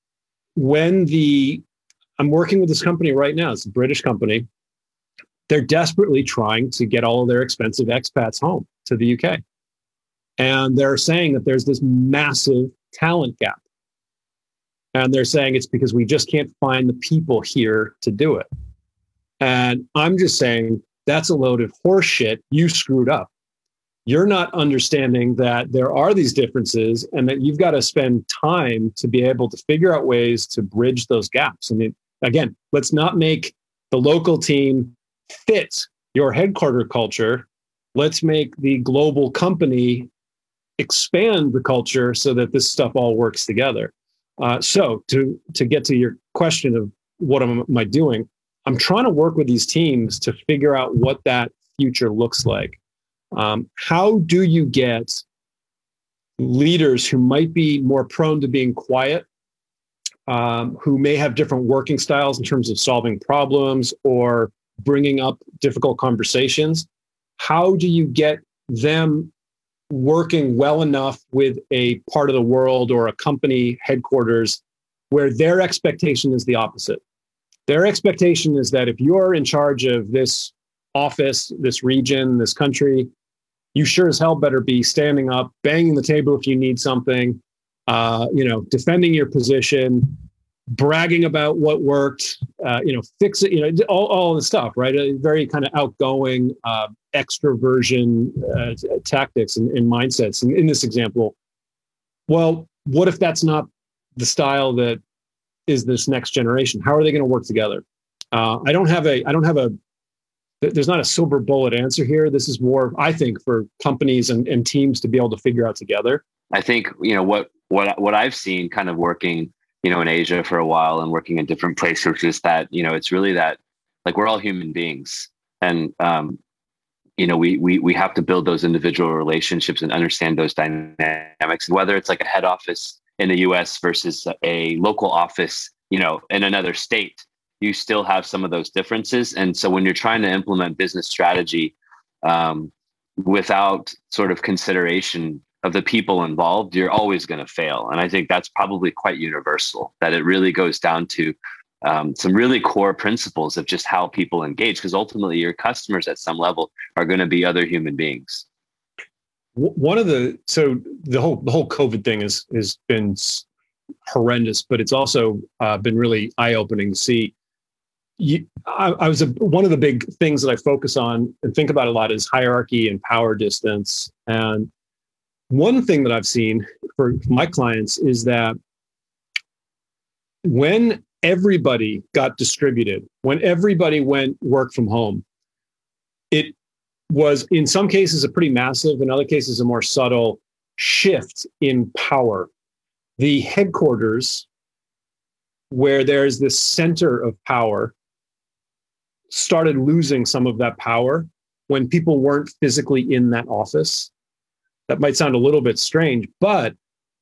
I'm working with this company right now, it's a British company. They're desperately trying to get all of their expensive expats home to the UK. And they're saying that there's this massive talent gap. And they're saying it's because we just can't find the people here to do it. And I'm just saying, that's a load of horse shit. You screwed up. You're not understanding that there are these differences and that you've got to spend time to be able to figure out ways to bridge those gaps. I mean, again, let's not make the local team fit your headquarter culture. Let's make the global company expand the culture so that this stuff all works together. So to get to your question of what am I doing, I'm trying to work with these teams to figure out what that future looks like. How do you get leaders who might be more prone to being quiet, who may have different working styles in terms of solving problems or bringing up difficult conversations? How do you get them working well enough with a part of the world or a company headquarters where their expectation is the opposite? Their expectation is that if you're in charge of this office, this region, this country, you sure as hell better be standing up, banging the table if you need something, defending your position, bragging about what worked, fix it, all the stuff, right? A very kind of outgoing extroversion tactics and mindsets. And in this example, well, what if that's not the style that is this next generation? How are they going to work together? There's not a silver bullet answer here. This is more, I think, for companies and teams to be able to figure out together. I think, what I've seen kind of working, in Asia for a while and working in different places is that, it's really that, like, we're all human beings, and, we have to build those individual relationships and understand those dynamics. And whether it's like a head office in the US versus a local office, in another state, you still have some of those differences. And so when you're trying to implement business strategy without sort of consideration of the people involved, you're always going to fail. And I think that's probably quite universal, that it really goes down to some really core principles of just how people engage, because ultimately your customers at some level are going to be other human beings. So the whole COVID thing has been horrendous, but it's also been really eye-opening to see. One of the big things that I focus on and think about a lot is hierarchy and power distance. And one thing that I've seen for my clients is that when everybody got distributed, when everybody went work from home, it was in some cases a pretty massive, in other cases a more subtle shift in power. The headquarters, where there's this center of power, started losing some of that power when people weren't physically in that office. That might sound a little bit strange, but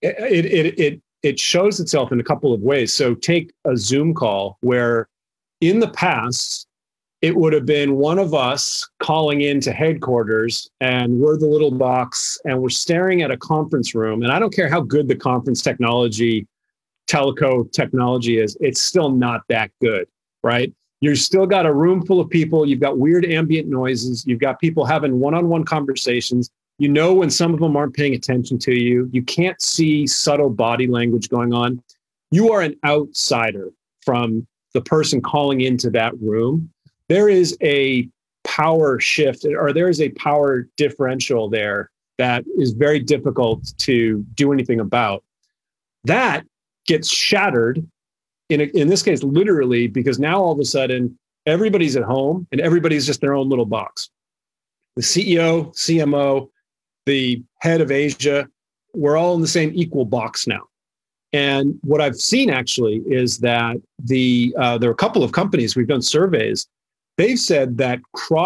it shows itself in a couple of ways. So take a Zoom call where in the past, it would have been one of us calling into headquarters, and we're the little box and we're staring at a conference room. And I don't care how good the conference technology, teleco technology is, it's still not that good, right? You've still got a room full of people. You've got weird ambient noises. You've got people having one-on-one conversations. When some of them aren't paying attention to you. You can't see subtle body language going on. You are an outsider from the person calling into that room. There is a power shift, or there is a power differential there that is very difficult to do anything about. That gets shattered in this case, literally, because now all of a sudden everybody's at home and everybody's just their own little box. The CEO, CMO, the head of Asia, we're all in the same equal box now. And what I've seen actually is that there are a couple of companies, we've done surveys, they've said that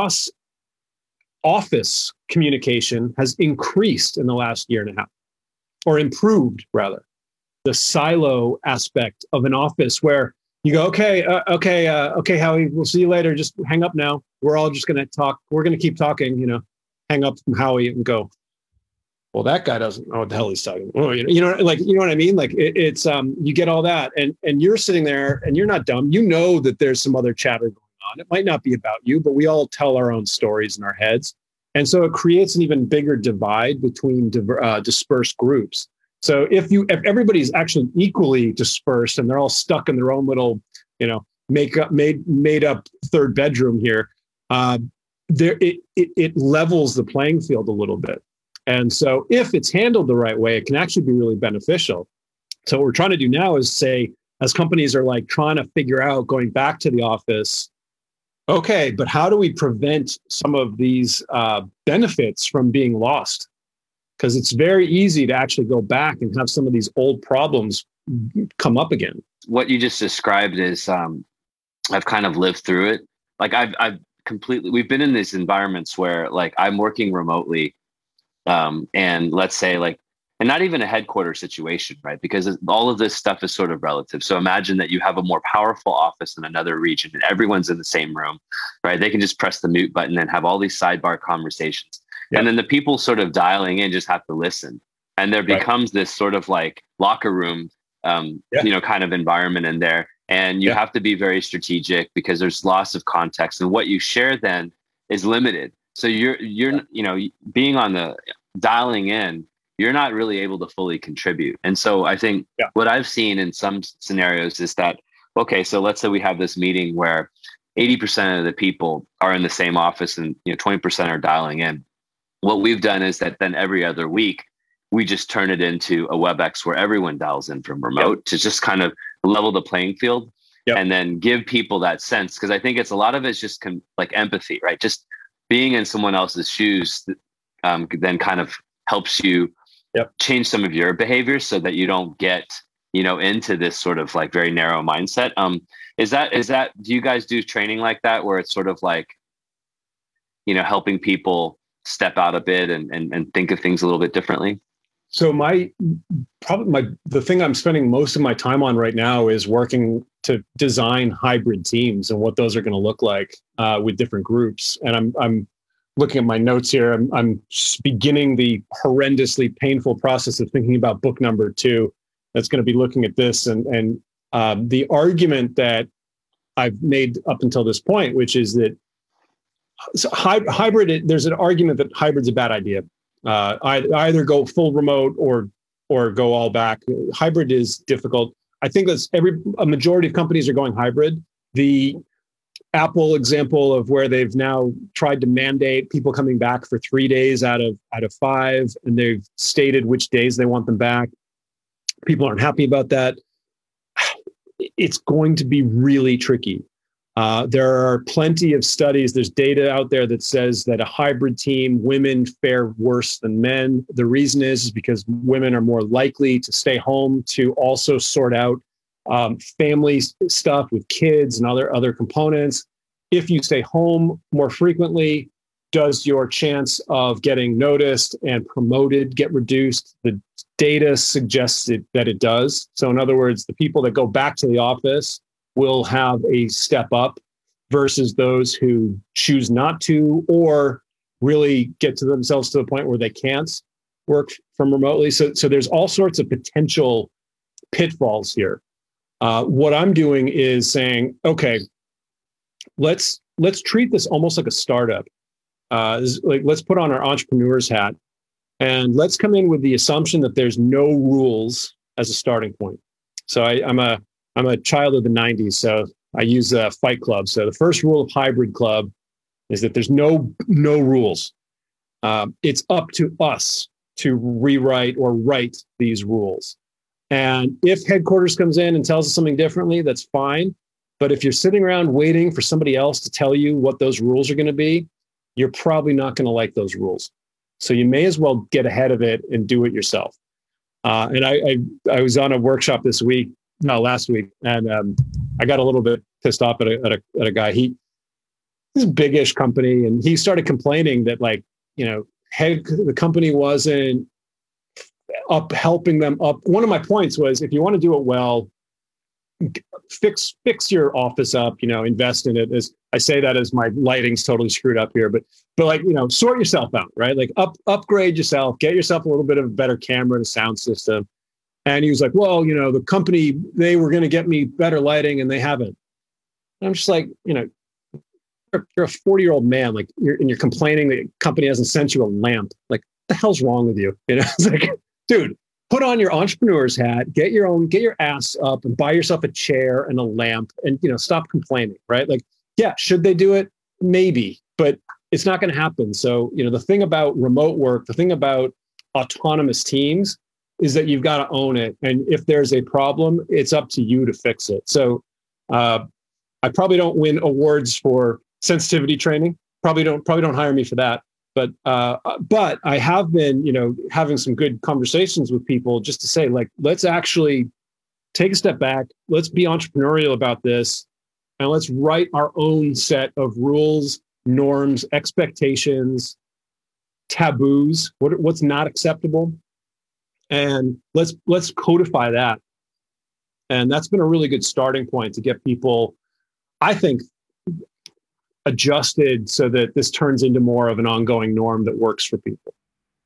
cross-office communication has increased in the last year and a half, or improved rather. The silo aspect of an office where you go, okay, Howie, we'll see you later. Just hang up now. We're all just going to talk. We're going to keep talking, hang up from Howie and go, well, that guy doesn't know what the hell he's talking about. You know what I mean? Like it's you get all that and you're sitting there and you're not dumb. You know that there's some other chatter going on. It might not be about you, but we all tell our own stories in our heads. And so it creates an even bigger divide between dispersed groups. So if everybody's actually equally dispersed and they're all stuck in their own little, made up third bedroom here, it levels the playing field a little bit. And so if it's handled the right way, it can actually be really beneficial. So what we're trying to do now is say, as companies are like trying to figure out going back to the office, okay, but how do we prevent some of these benefits from being lost? Because it's very easy to actually go back and have some of these old problems come up again. What you just described is, I've kind of lived through it. Like we've been in these environments where like I'm working remotely, and let's say and not even a headquarters situation, right? Because all of this stuff is sort of relative. So imagine that you have a more powerful office in another region and everyone's in the same room, right? They can just press the mute button and have all these sidebar conversations. Yeah. And then the people sort of dialing in just have to listen. And there becomes this sort of like locker room, kind of environment in there. And you have to be very strategic because there's loss of context. And what you share then is limited. So you're being on the dialing in you're not really able to fully contribute. And so I think what I've seen in some scenarios is that, okay, so let's say we have this meeting where 80% of the people are in the same office and 20% are dialing in. What we've done is that then every other week, we just turn it into a WebEx where everyone dials in from remote to just kind of level the playing field and then give people that sense. Because I think it's a lot of it's just like empathy, right? Just being in someone else's shoes then kind of helps you change some of your behaviors so that you don't get, into this sort of like very narrow mindset. Is that, do you guys do training like that where it's sort of like, helping people step out a bit and think of things a little bit differently? So the thing I'm spending most of my time on right now is working to design hybrid teams and what those are going to look like with different groups. And I'm looking at my notes here. I'm beginning the horrendously painful process of thinking about book number 2 that's going to be looking at this. And the argument that I've made up until this point, which is that hybrid, there's an argument that hybrid's a bad idea. Either go full remote or go all back. Hybrid is difficult. I think a majority of companies are going hybrid. The Apple example of where they've now tried to mandate people coming back for 3 days out of 5, and they've stated which days they want them back. People aren't happy about that. It's going to be really tricky. There are plenty of studies. There's data out there that says that a hybrid team, women fare worse than men. The reason is because women are more likely to stay home to also sort out family stuff with kids and other components. If you stay home more frequently, does your chance of getting noticed and promoted get reduced? The data suggests that it does. So in other words, the people that go back to the office will have a step up versus those who choose not to or really get to themselves to the point where they can't work from remotely. So there's all sorts of potential pitfalls here. What I'm doing is saying, okay, let's treat this almost like a startup. Let's put on our entrepreneur's hat and let's come in with the assumption that there's no rules as a starting point. So I'm a child of the 90s, so I use Fight Club. So the first rule of Hybrid Club is that there's no rules. It's up to us to rewrite or write these rules. And if headquarters comes in and tells us something differently, that's fine. But if you're sitting around waiting for somebody else to tell you what those rules are going to be, you're probably not going to like those rules. So you may as well get ahead of it and do it yourself. And I was on a workshop last week, and I got a little bit pissed off at a guy. He's a big-ish company, and he started complaining that the company wasn't helping them up. One of my points was, if you want to do it well, fix your office up, invest in it. As I say that as my lighting's totally screwed up here, but sort yourself out, right? Like upgrade yourself, get yourself a little bit of a better camera and sound system. And he was like, well, the company, they were going to get me better lighting and they haven't. And I'm just like, you're a 40-year-old man, you're complaining that the company hasn't sent you a lamp. Like, what the hell's wrong with you? It's like, dude, put on your entrepreneur's hat, get your ass up and buy yourself a chair and a lamp and, stop complaining, right? Like, yeah, should they do it? Maybe, but it's not going to happen. So, the thing about remote work, the thing about autonomous teams is that you've got to own it. And if there's a problem, it's up to you to fix it. So I probably don't win awards for sensitivity training. Probably don't hire me for that. But I have been, having some good conversations with people just to say, let's actually take a step back. Let's be entrepreneurial about this. And let's write our own set of rules, norms, expectations, taboos, what's not acceptable. And let's codify that. And that's been a really good starting point to get people, I think, adjusted so that this turns into more of an ongoing norm that works for people.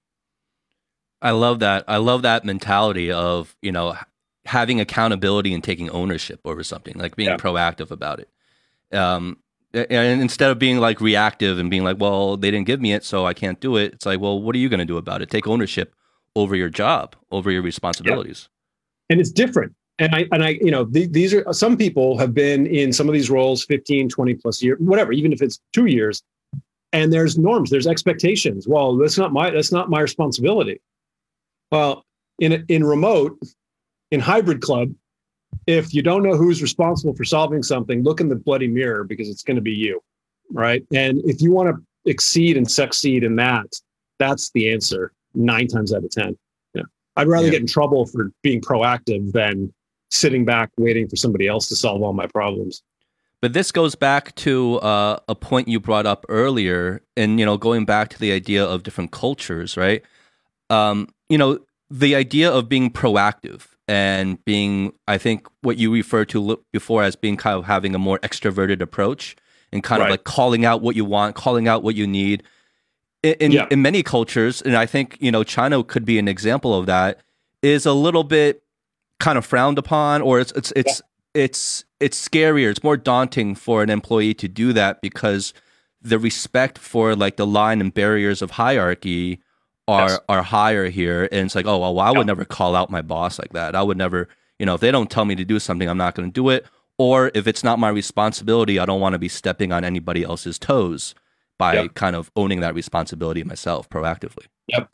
I love that. I love that mentality of, having accountability and taking ownership over something, like being proactive about it. And instead of being reactive and being like, well, they didn't give me it, so I can't do it. It's like, well, what are you going to do about it? Take ownership over your job, over your responsibilities. And it's different. And I, you know, these are, some people have been in some of these roles 15, 20 plus years, whatever, even if it's 2 years, and there's norms, there's expectations. Well, that's not my responsibility. Well, in remote, in hybrid club, if you don't know who's responsible for solving something, look in the bloody mirror, because it's going to be you, right? And if you want to exceed and succeed in that, that's the answer 9 times out of 10. Yeah. I'd rather get in trouble for being proactive than sitting back waiting for somebody else to solve all my problems. But this goes back to a point you brought up earlier, and, you know, going back to the idea of different cultures, right? You know, the idea of being proactive and being, I think, what you referred to before as being kind of having a more extroverted approach and kind of like calling out what you want, calling out what you need. In many cultures, and I think, you know, China could be an example of that, is a little bit kind of frowned upon, or it's scarier. It's more daunting for an employee to do that, because the respect for like the line and barriers of hierarchy are higher here. And it's like, oh, well, I would never call out my boss like that. I would never, you know, if they don't tell me to do something, I'm not going to do it. Or if it's not my responsibility, I don't want to be stepping on anybody else's toes by kind of owning that responsibility myself proactively. Yep.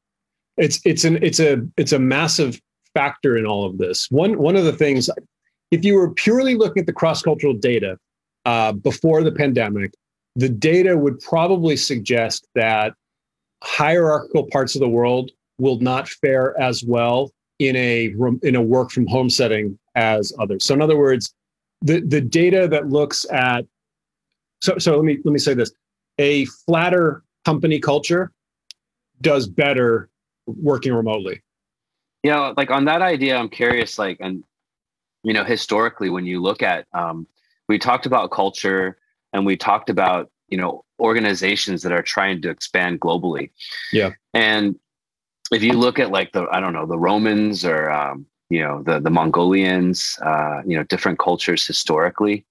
It's a massive factor in all of this. One of the things, if you were purely looking at the cross-cultural data before the pandemic, the data would probably suggest that hierarchical parts of the world will not fare as well in a work from home setting as others. So in other words, the data that looks at, so let me say this, a flatter company culture does better working remotely. Yeah, like on that idea, I'm curious, like, and, you know, historically, when you look at, we talked about culture and we talked about, you know, organizations that are trying to expand globally. Yeah. And if you look at like the Romans or, you know, the Mongolians, you know, different cultures historically,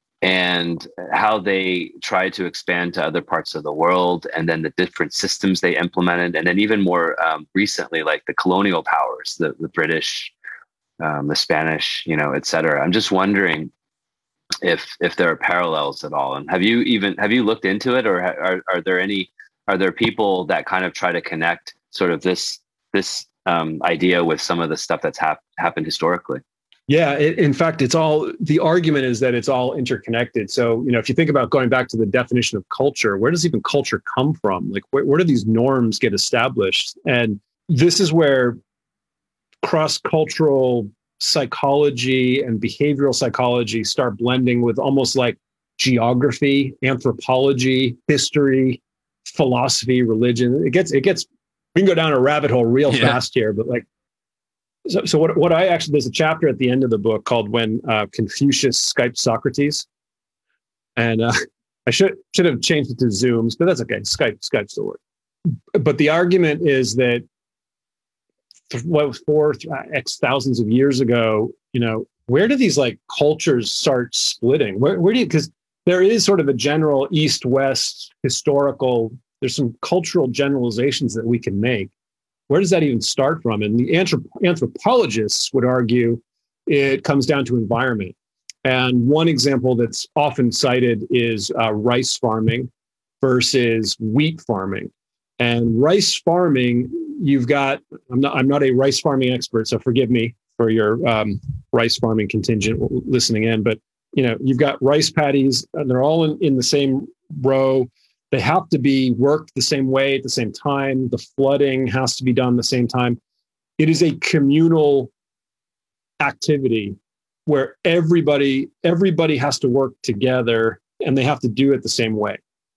and how they tried to expand to other parts of the world, and then the different systems they implemented. And then even more recently, like the colonial powers, the British, the Spanish, you know, et cetera. I'm just wondering if there are parallels at all. And have you looked into it, or are there people that kind of try to connect sort of this idea with some of the stuff that's happened historically? Yeah, in fact, the argument is that it's all interconnected. So, you know, if you think about going back to the definition of culture, where does even culture come from? Like, where do these norms get established? And this is where cross-cultural psychology and behavioral psychology start blending with almost like geography, anthropology, history, philosophy, religion. It gets, we can go down a rabbit hole real fast here, but like, so what I actually, there's a chapter at the end of the book called When Confucius Skyped Socrates. And I should have changed it to Zooms, but that's okay. Skype still works. But the argument is that what was 4x thousands of years ago, you know, where do these like cultures start splitting? Where do you, because there is sort of a general East-West historical, there's some cultural generalizations that we can make. Where does that even start from? And the anthropologists would argue it comes down to environment. And one example that's often cited is rice farming versus wheat farming. And rice farming, you've got, I'm not a rice farming expert, so forgive me for your rice farming contingent listening in, but you know, you've got rice paddies and they're all in the same row. They have to be worked the same way at the same time. The flooding has to be done the same time. It is a communal activity where everybody has to work together and they have to do it the same way.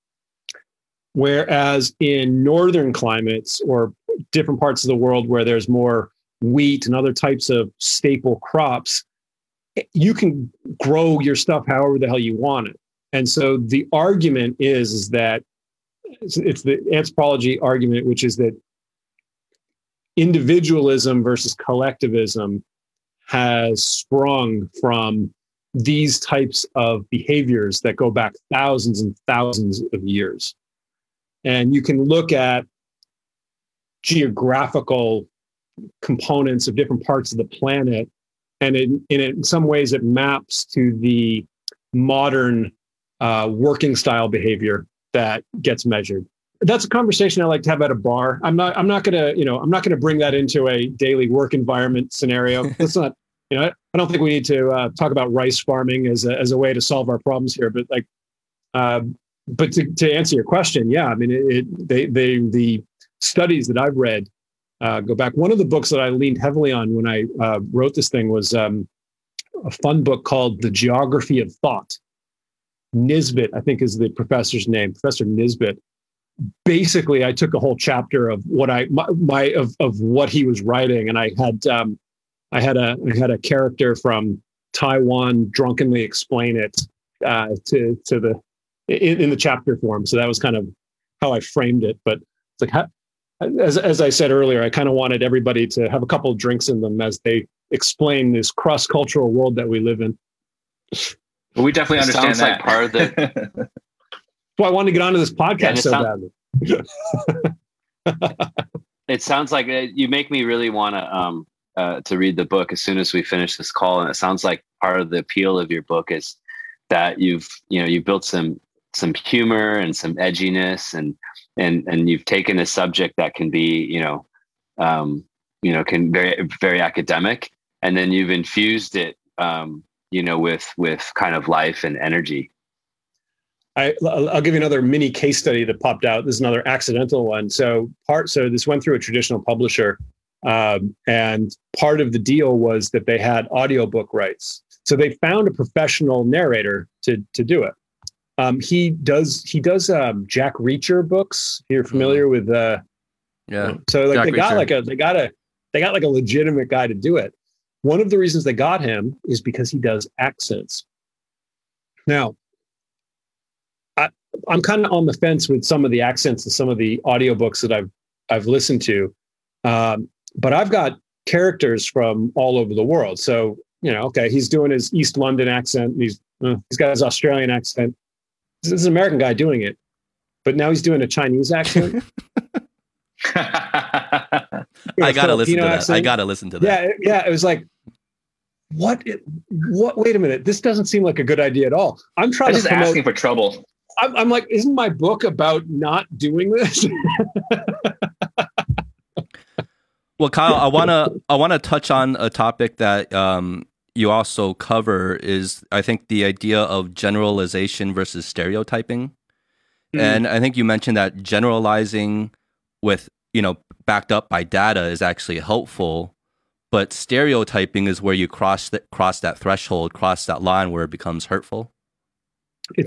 Whereas in northern climates or different parts of the world where there's more wheat and other types of staple crops, you can grow your stuff however the hell you want it. And so the argument is that it's the anthropology argument, which is that individualism versus collectivism has sprung from these types of behaviors that go back thousands and thousands of years. And you can look at geographical components of different parts of the planet. And in some ways, it maps to the modern working style behavior that gets measured. That's a conversation I like to have at a bar. I'm not gonna bring that into a daily work environment scenario. That's not, I don't think we need to talk about rice farming as a way to solve our problems here. But to answer your question, yeah, I mean, the studies that I've read go back. One of the books that I leaned heavily on when I wrote this thing was a fun book called The Geography of Thought. Nisbet, I think, is the professor's name, Professor Nisbet. Basically, I took a whole chapter of what of what he was writing, and I had a character from Taiwan drunkenly explain it in the chapter form. So that was kind of how I framed it. But it's like, as I said earlier, I kind of wanted everybody to have a couple of drinks in them as they explain this cross-cultural world that we live in. Well, we definitely understand that. Like part of the. Well, I wanted to get onto this podcast badly. It sounds like you make me really want to read the book as soon as we finish this call, and it sounds like part of the appeal of your book is that you've built some humor and some edginess, and you've taken a subject that can be can very very academic, and then you've infused it with kind of life and energy. I'll give you another mini case study that popped out. This is another accidental one. So this went through a traditional publisher, and part of the deal was that they had audiobook rights. So they found a professional narrator to do it. He does Jack Reacher books. You're familiar with yeah. So like Jack they got a legitimate guy to do it. One of the reasons they got him is because he does accents. Now, I'm kind of on the fence with some of the accents and some of the audiobooks that I've listened to, but I've got characters from all over the world. So okay, he's doing his East London accent. He's got his Australian accent. This is an American guy doing it, but now he's doing a Chinese accent. I gotta listen to that. Accent. I gotta listen to that. Yeah. It was like, what? Wait a minute. This doesn't seem like a good idea at all. I'm just asking for trouble. I'm like, isn't my book about not doing this? Well, Kyle, I wanna touch on a topic that you also cover is, I think, the idea of generalization versus stereotyping. And I think you mentioned that generalizing with, backed up by data is actually helpful, but stereotyping is where you cross that threshold, cross that line where it becomes hurtful. It's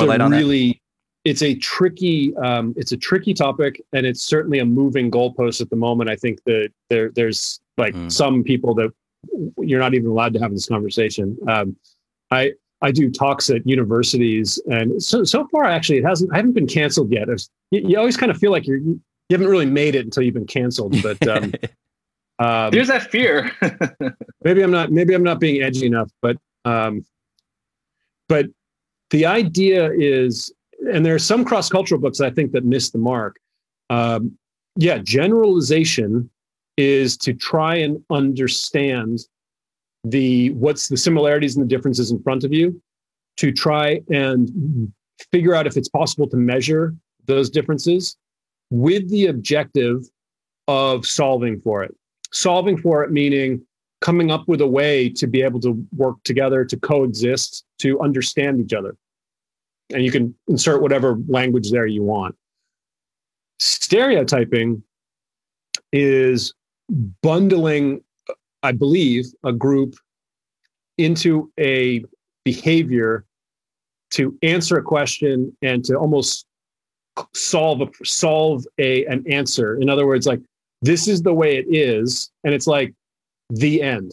a tricky topic, and it's certainly a moving goalpost at the moment. I think that there's some people that you're not even allowed to have this conversation. I do talks at universities, and so far actually I haven't been canceled yet. You always kind of feel like you haven't really made it until you've been canceled. But there's that fear. maybe I'm not being edgy enough, but the idea is, and there are some cross-cultural books I think that miss the mark. Generalization is to try and understand what's the similarities and the differences in front of you, to try and figure out if it's possible to measure those differences with the objective of solving for it. Solving for it meaning coming up with a way to be able to work together, to coexist, to understand each other. And you can insert whatever language there you want. Stereotyping is bundling, I believe, a group into a behavior to answer a question and to almost solve an answer. In other words, like, this is the way it is, and it's like the end.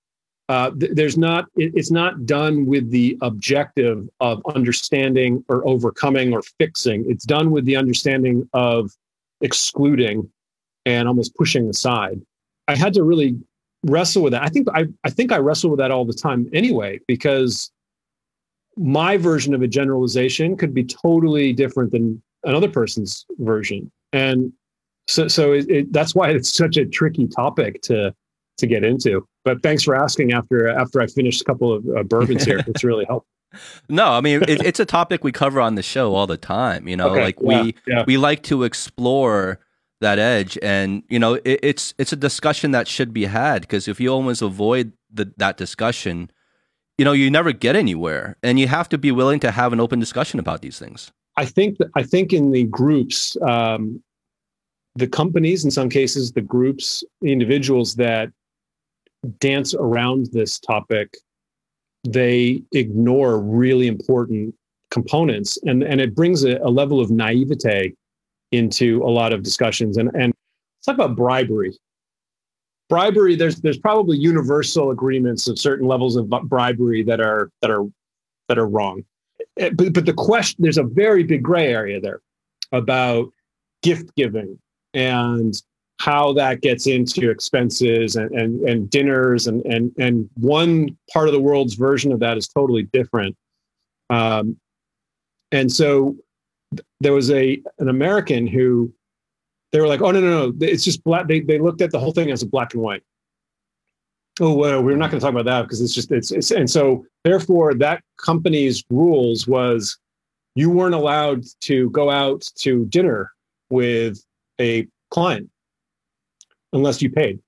It's not done with the objective of understanding or overcoming or fixing. It's done with the understanding of excluding and almost pushing aside. I had to really wrestle with that. I think I wrestle with that all the time anyway, because my version of a generalization could be totally different than another person's version. And That's why it's such a tricky topic to get into. But thanks for asking after I finished a couple of bourbons here. It's really helpful. No, I mean, it's a topic we cover on the show all the time. You know, Okay. We like to explore that edge, and you know, it's a discussion that should be had, because if you always avoid that discussion, you know, you never get anywhere, and you have to be willing to have an open discussion about these things. I think in the groups, the companies, in some cases, the groups, the individuals that dance around this topic, they ignore really important components, and it brings a level of naivete into a lot of discussions. And let's talk about bribery. Bribery, there's probably universal agreements of certain levels of bribery that are wrong. But the question, there's a very big gray area there about gift giving and how that gets into expenses and dinners, and one part of the world's version of that is totally different. And so there was an American who, they were like, oh, no, it's just black. They looked at the whole thing as a black and white. Oh, well, we're not going to talk about that because it's and so therefore that company's rules was you weren't allowed to go out to dinner with a client unless you paid.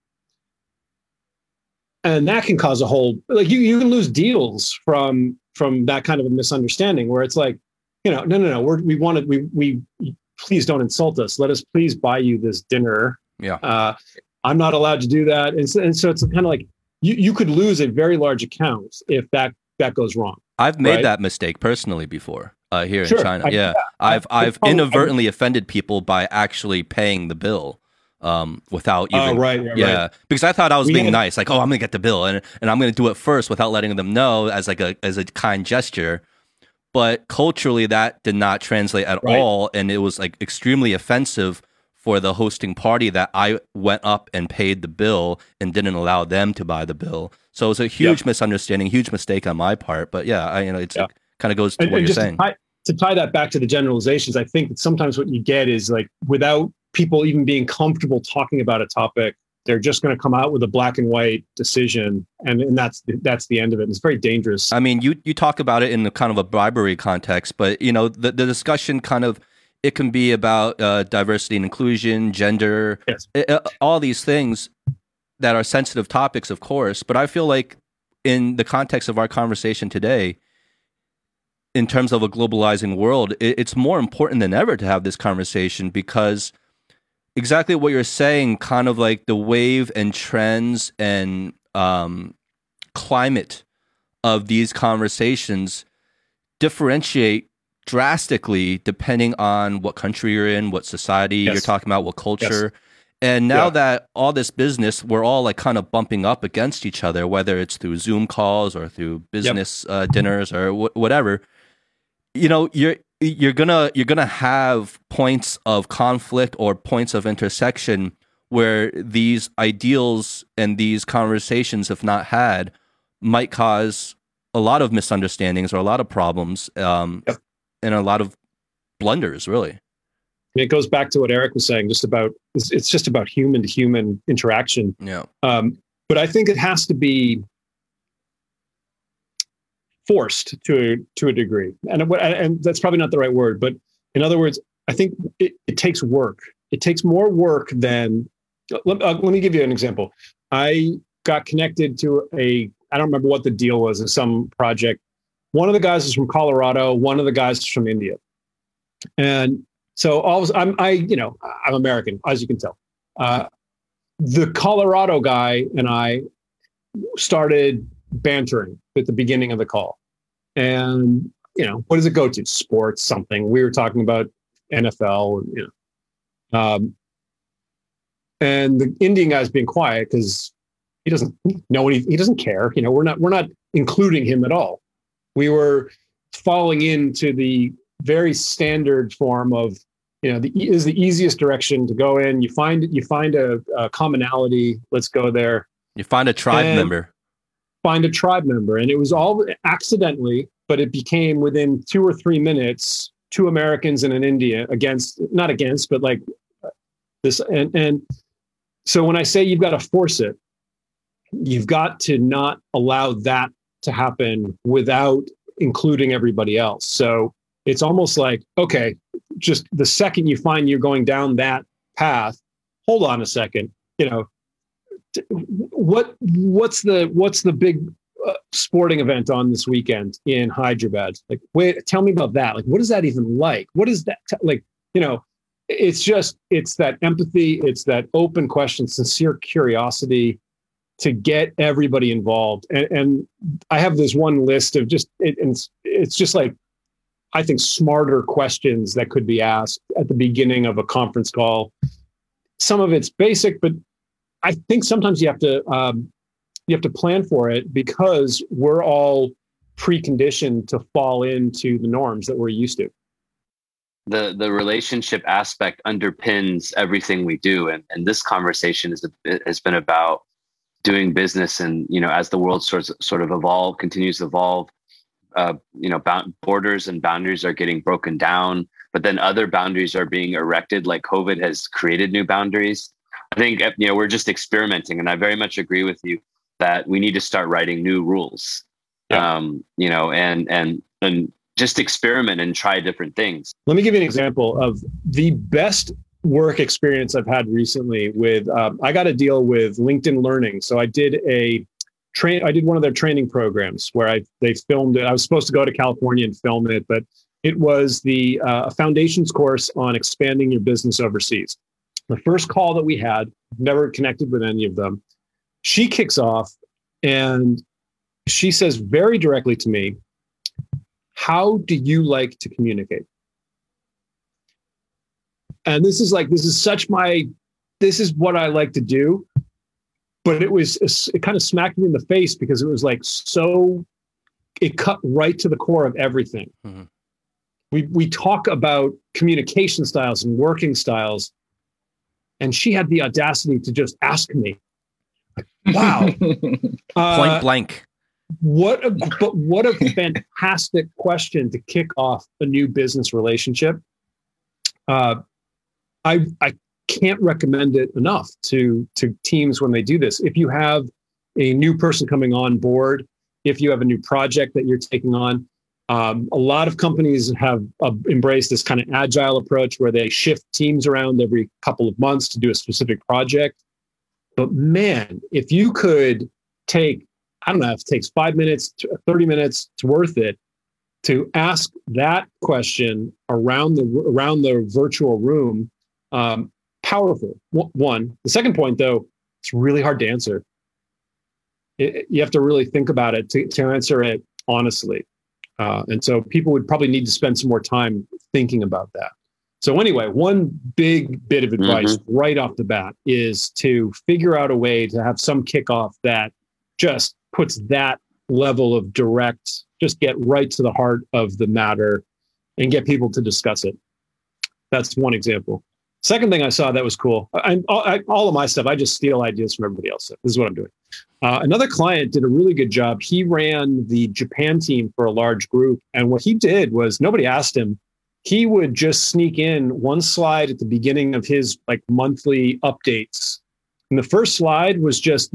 And that can cause a whole, like, you can lose deals from that kind of a misunderstanding where it's like, you know, no, we please don't insult us. Let us please buy you this dinner. Yeah. I'm not allowed to do that. And so it's kind of like you could lose a very large account if that goes wrong. I've made that mistake personally before here in China. Yeah. I've inadvertently offended people by actually paying the bill without even. Right. Because I thought I was being nice, like, oh, I'm gonna get the bill and I'm gonna do it first without letting them know as a kind gesture. But culturally, that did not translate at all, and it was like extremely offensive for the hosting party that I went up and paid the bill and didn't allow them to buy the bill. So it was a huge misunderstanding, huge mistake on my part. But it kind of goes to what you're saying. To tie that back to the generalizations, I think that sometimes what you get is, like, without people even being comfortable talking about a topic, they're just going to come out with a black and white decision, and that's the end of it. It's very dangerous. I mean, you talk about it in the kind of a bribery context, but you know, the discussion kind of, it can be about diversity and inclusion, gender, all these things that are sensitive topics, of course. But I feel like in the context of our conversation today, in terms of a globalizing world, it's more important than ever to have this conversation, because exactly what you're saying, kind of like the wave and trends and climate of these conversations differentiate drastically depending on what country you're in, what society you're talking about, what culture. And now that all this business, we're all like kind of bumping up against each other, whether it's through Zoom calls or through business dinners or whatever. You know, you're gonna have points of conflict or points of intersection where these ideals and these conversations, if not had, might cause a lot of misunderstandings or a lot of problems and a lot of blunders, really. It goes back to what Eric was saying, it's just about human to human interaction. Yeah. But I think it has to be forced to a degree, and that's probably not the right word, but in other words, I think it takes work. It takes more work than. Let me give you an example. I got connected to I don't remember what the deal was, of some project. One of the guys is from Colorado. One of the guys is from India, and so I'm American, as you can tell. The Colorado guy and I started bantering at the beginning of the call. And, you know, what does it go to? Sports, something. We were talking about NFL, and the Indian guy's being quiet because he doesn't know he doesn't care. You know, we're not including him at all. We were falling into the very standard form of, you know, is the easiest direction to go in. You find a commonality. Let's go there. You find a tribe member. Find a tribe member. And it was all accidentally, but it became within 2 or 3 minutes, 2 Americans and an Indian This and so when I say you've got to force it, you've got to not allow that to happen without including everybody else. So it's almost like, okay, just the second you find you're going down that path, hold on a second. What's the big sporting event on this weekend in Hyderabad? Like, wait, tell me about that. Like, what is that even like? What is that it's that empathy. It's that open question, sincere curiosity to get everybody involved. And I have this one list of it's just like, I think, smarter questions that could be asked at the beginning of a conference call. Some of it's basic, but I think sometimes you have to plan for it because we're all preconditioned to fall into the norms that we're used to. The relationship aspect underpins everything we do, and this conversation has been about doing business, and as the world sort of continues to evolve. Borders and boundaries are getting broken down, but then other boundaries are being erected. Like COVID has created new boundaries. I think we're just experimenting, and I very much agree with you that we need to start writing new rules. Yeah. And just experiment and try different things. Let me give you an example of the best work experience I've had recently with. I got a deal with LinkedIn Learning, so I did I did one of their training programs where they filmed it. I was supposed to go to California and film it, but it was the foundations course on expanding your business overseas. The first call that we had, never connected with any of them. She kicks off and she says very directly to me, "How do you like to communicate?" And this is what I like to do. But it kind of smacked me in the face because it was like, it cut right to the core of everything. Mm-hmm. We talk about communication styles and working styles. And she had the audacity to just ask me, wow. Point blank. What a fantastic question to kick off a new business relationship. I can't recommend it enough to teams when they do this. If you have a new person coming on board, if you have a new project that you're taking on, a lot of companies have embraced this kind of agile approach where they shift teams around every couple of months to do a specific project. But man, if you could take, I don't know if it takes 5 minutes, 30 minutes, it's worth it to ask that question around the virtual room. Powerful. One. The second point, though, it's really hard to answer. You have to really think about it to answer it honestly. And so people would probably need to spend some more time thinking about that. So anyway, one big bit of advice right off the bat is to figure out a way to have some kickoff that just puts that level of direct, just get right to the heart of the matter and get people to discuss it. That's one example. Second thing I saw that was cool. All of my stuff, I just steal ideas from everybody else. This is what I'm doing. Another client did a really good job. He ran the Japan team for a large group. And what he did was nobody asked him. He would just sneak in one slide at the beginning of his monthly updates. And the first slide was just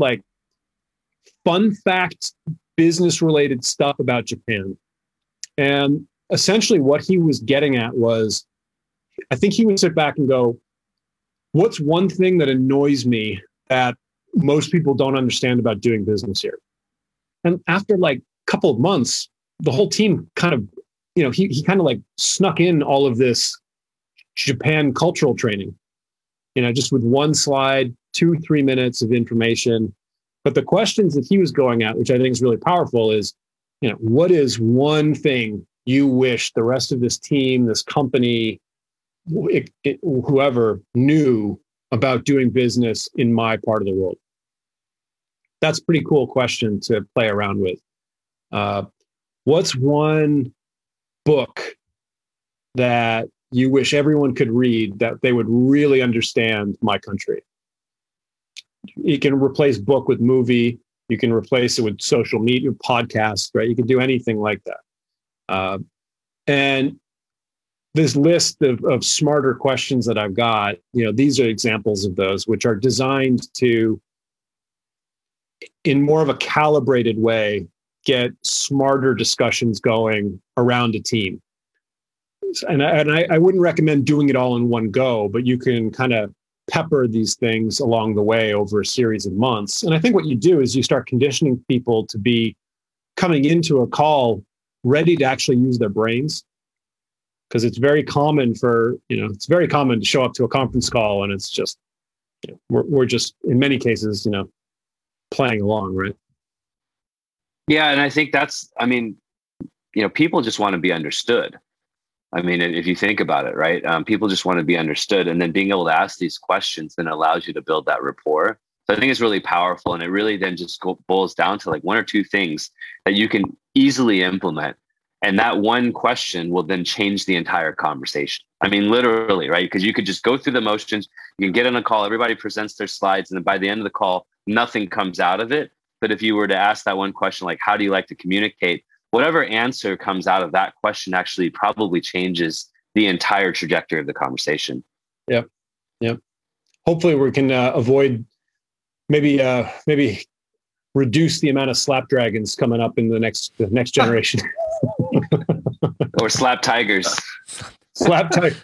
fun fact, business related stuff about Japan. And essentially what he was getting at was, I think he would sit back and go, what's one thing that annoys me that most people don't understand about doing business here? And after a couple of months, the whole team kind of, he kind of snuck in all of this Japan cultural training, just with one slide, 2-3 minutes of information. But the questions that he was going at, which I think is really powerful, is, what is one thing you wish the rest of this team, this company, whoever knew about doing business in my part of the world? That's a pretty cool question to play around with. What's one book that you wish everyone could read that they would really understand my country? You can replace book with movie. You can replace it with social media, podcast, right? You can do anything like that. And this list of smarter questions that I've got, these are examples of those, which are designed to, in more of a calibrated way, get smarter discussions going around a team. And I wouldn't recommend doing it all in one go, but you can kind of pepper these things along the way over a series of months. And I think what you do is you start conditioning people to be coming into a call ready to actually use their brains. Because it's very common to show up to a conference call and it's just, we're just, in many cases, playing along, right? Yeah. And I think people just want to be understood. I mean, if you think about it, right? People just want to be understood, and then being able to ask these questions then allows you to build that rapport. So I think it's really powerful, and it really then just boils down to like one or two things that you can easily implement. And that one question will then change the entire conversation. I mean, literally, right? Because you could just go through the motions, you can get on a call, everybody presents their slides, and then by the end of the call, nothing comes out of it. But if you were to ask that one question, like, how do you like to communicate? Whatever answer comes out of that question actually probably changes the entire trajectory of the conversation. Yep. Hopefully we can avoid maybe reduce the amount of slap dragons coming up in the next generation. Or slap tigers. Slap tiger.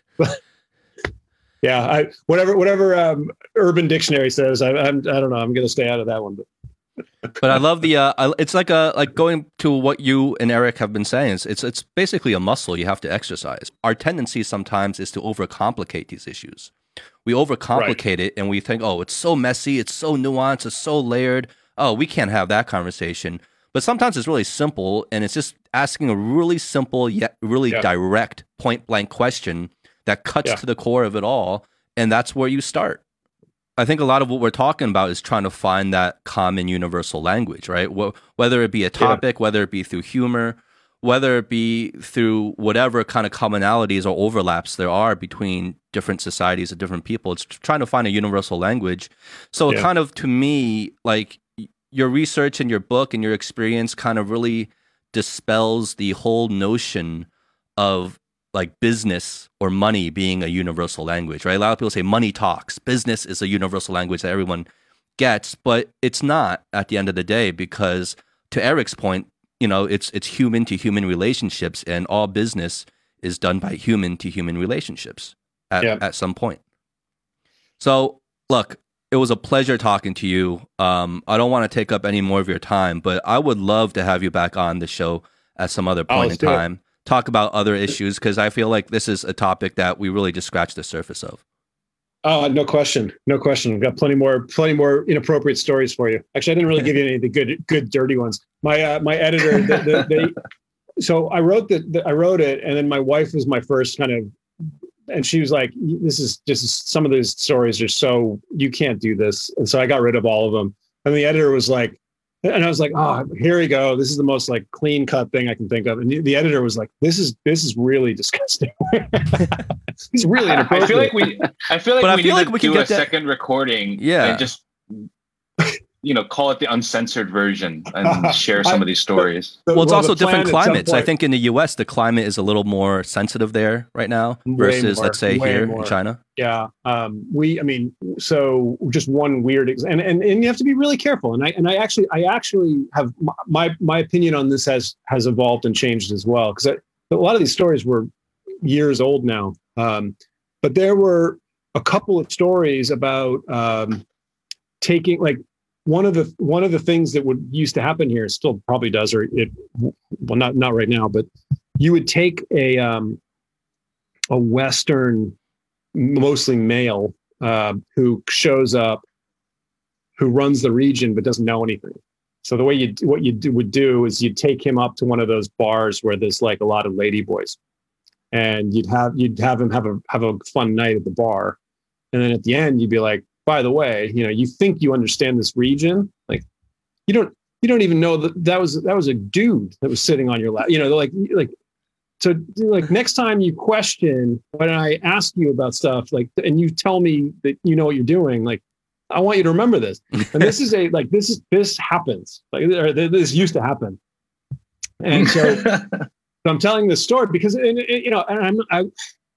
Yeah, whatever Urban Dictionary says. I don't know. I'm going to stay out of that one. But I love the. It's like going to what you and Eric have been saying. It's basically a muscle you have to exercise. Our tendency sometimes is to overcomplicate these issues. We overcomplicate it, and we think, oh, it's so messy, it's so nuanced, it's so layered. Oh, we can't have that conversation. But sometimes it's really simple, and it's just asking a really simple yet really direct, point blank question that cuts to the core of it all, and that's where you start. I think a lot of what we're talking about is trying to find that common universal language, right? Whether it be a topic, whether it be through humor, whether it be through whatever kind of commonalities or overlaps there are between different societies and different people. It's trying to find a universal language. So kind of, to me, like, your research and your book and your experience kind of really dispels the whole notion of like business or money being a universal language, right? A lot of people say money talks. Business is a universal language that everyone gets, but it's not at the end of the day, because to Eric's point, it's human to human relationships, and all business is done by human to human relationships at some point. So look, it was a pleasure talking to you. I don't want to take up any more of your time, but I would love to have you back on the show at some other point in time. Talk about other issues, because I feel like this is a topic that we really just scratched the surface of. Oh, no question. We've got plenty more inappropriate stories for you. Actually, I didn't really give you any of the good dirty ones. My editor, so I wrote it, and then my wife was my first kind of, and she was like, "This is some of these stories are so, you can't do this," and so I got rid of all of them. And the editor was like. And I was like, oh, here we go. This is the most like clean cut thing I can think of. And the editor was like, this is really disgusting. It's really inappropriate. I feel like we need to do a second recording and just, call it the uncensored version and share some of these stories. Well, it's also different climates. I think in the US, the climate is a little more sensitive there right now versus, let's say, here in China. Yeah. So just one weird and you have to be really careful. And I actually have my opinion on this has evolved and changed as well. Because a lot of these stories were years old now. But there were a couple of stories about taking, like, one of the things that used to happen here, still probably does, not right now, but you would take a Western, mostly male, who shows up, who runs the region but doesn't know anything. So the way what you would do is you'd take him up to one of those bars where there's like a lot of lady boys, and you'd have him have a fun night at the bar, and then at the end you'd be like, by the way, you think you understand this region, like you don't even know that was a dude that was sitting on your lap. So next time you question when I ask you about stuff, like, and you tell me that you know what you're doing, like, I want you to remember this. And this is this happens, or this used to happen. And so I'm telling this story because,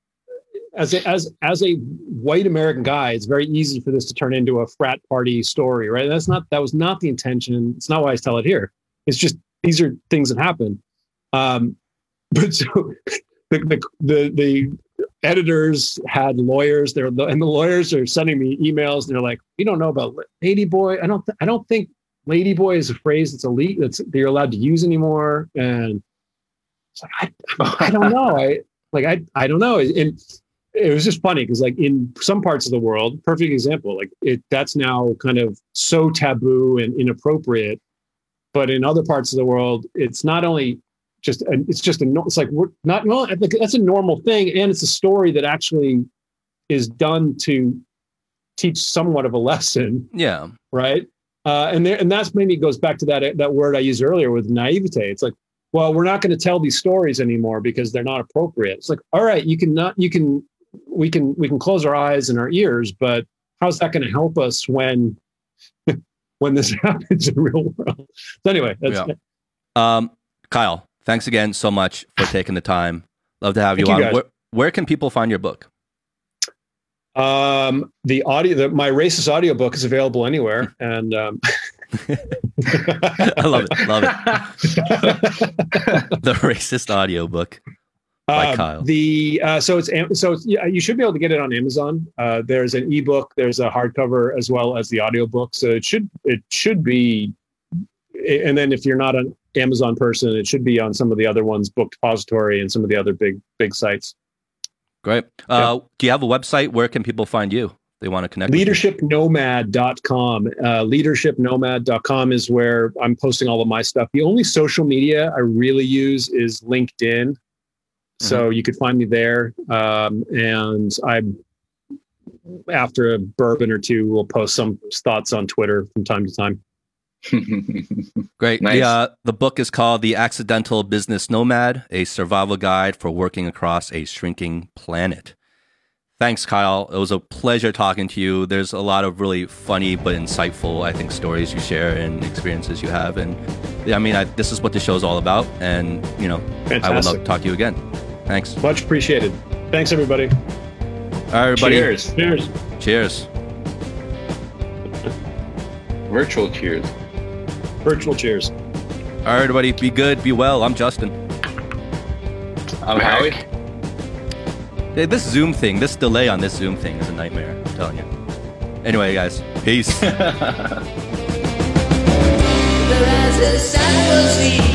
as a white American guy, it's very easy for this to turn into a frat party story, right? That was not the intention. It's not why I tell it here. It's just these are things that happen. But so the editors had lawyers there, and the lawyers are sending me emails. And they're like, "We don't know about Ladyboy. I don't think Ladyboy is a phrase that's elite that you're allowed to use anymore." And it's like, I don't know. I don't know. And it was just funny because like in some parts of the world, perfect example, like that's now kind of so taboo and inappropriate. But in other parts of the world, it's not only just it's like we're not like that's a normal thing, and it's a story that actually is done to teach somewhat of a lesson. Yeah. Right. And that's maybe goes back to that word I used earlier with naivete. It's like, well, we're not going to tell these stories anymore because they're not appropriate. It's like, all right, we can close our eyes and our ears, but how's that going to help us when this happens in the real world? So anyway, that's Kyle, thanks again so much for taking the time. Love to have you on. Where can people find your book? My racist audiobook is available anywhere, and I love it. The racist audiobook by Kyle. You should be able to get it on Amazon. There's an ebook, there's a hardcover as well as the audiobook. So it should be, and then if you're not an Amazon person, it should be on some of the other ones, Book Depository and some of the other big sites. Great. Do you have a website? Where can people find you? They want to connect. Leadershipnomad.com. Leadershipnomad.com is where I'm posting all of my stuff. The only social media I really use is LinkedIn. So you could find me there. And after a bourbon or two, we'll post some thoughts on Twitter from time to time. Great. Nice. The book is called The Accidental Business Nomad, a survival guide for working across a shrinking planet. Thanks, Kyle. It was a pleasure talking to you. There's a lot of really funny but insightful, I think, stories you share and experiences you have. And I mean, this is what the show's all about. And, Fantastic. I would love to talk to you again. Thanks. Much appreciated. Thanks, everybody. All right, everybody. Cheers. Cheers. Cheers. Virtual cheers. Virtual cheers. All right, everybody. Be good. Be well. I'm Justin. I'm Howie. Hey, this Zoom thing, this delay on this Zoom thing is a nightmare. I'm telling you. Anyway, guys. Peace.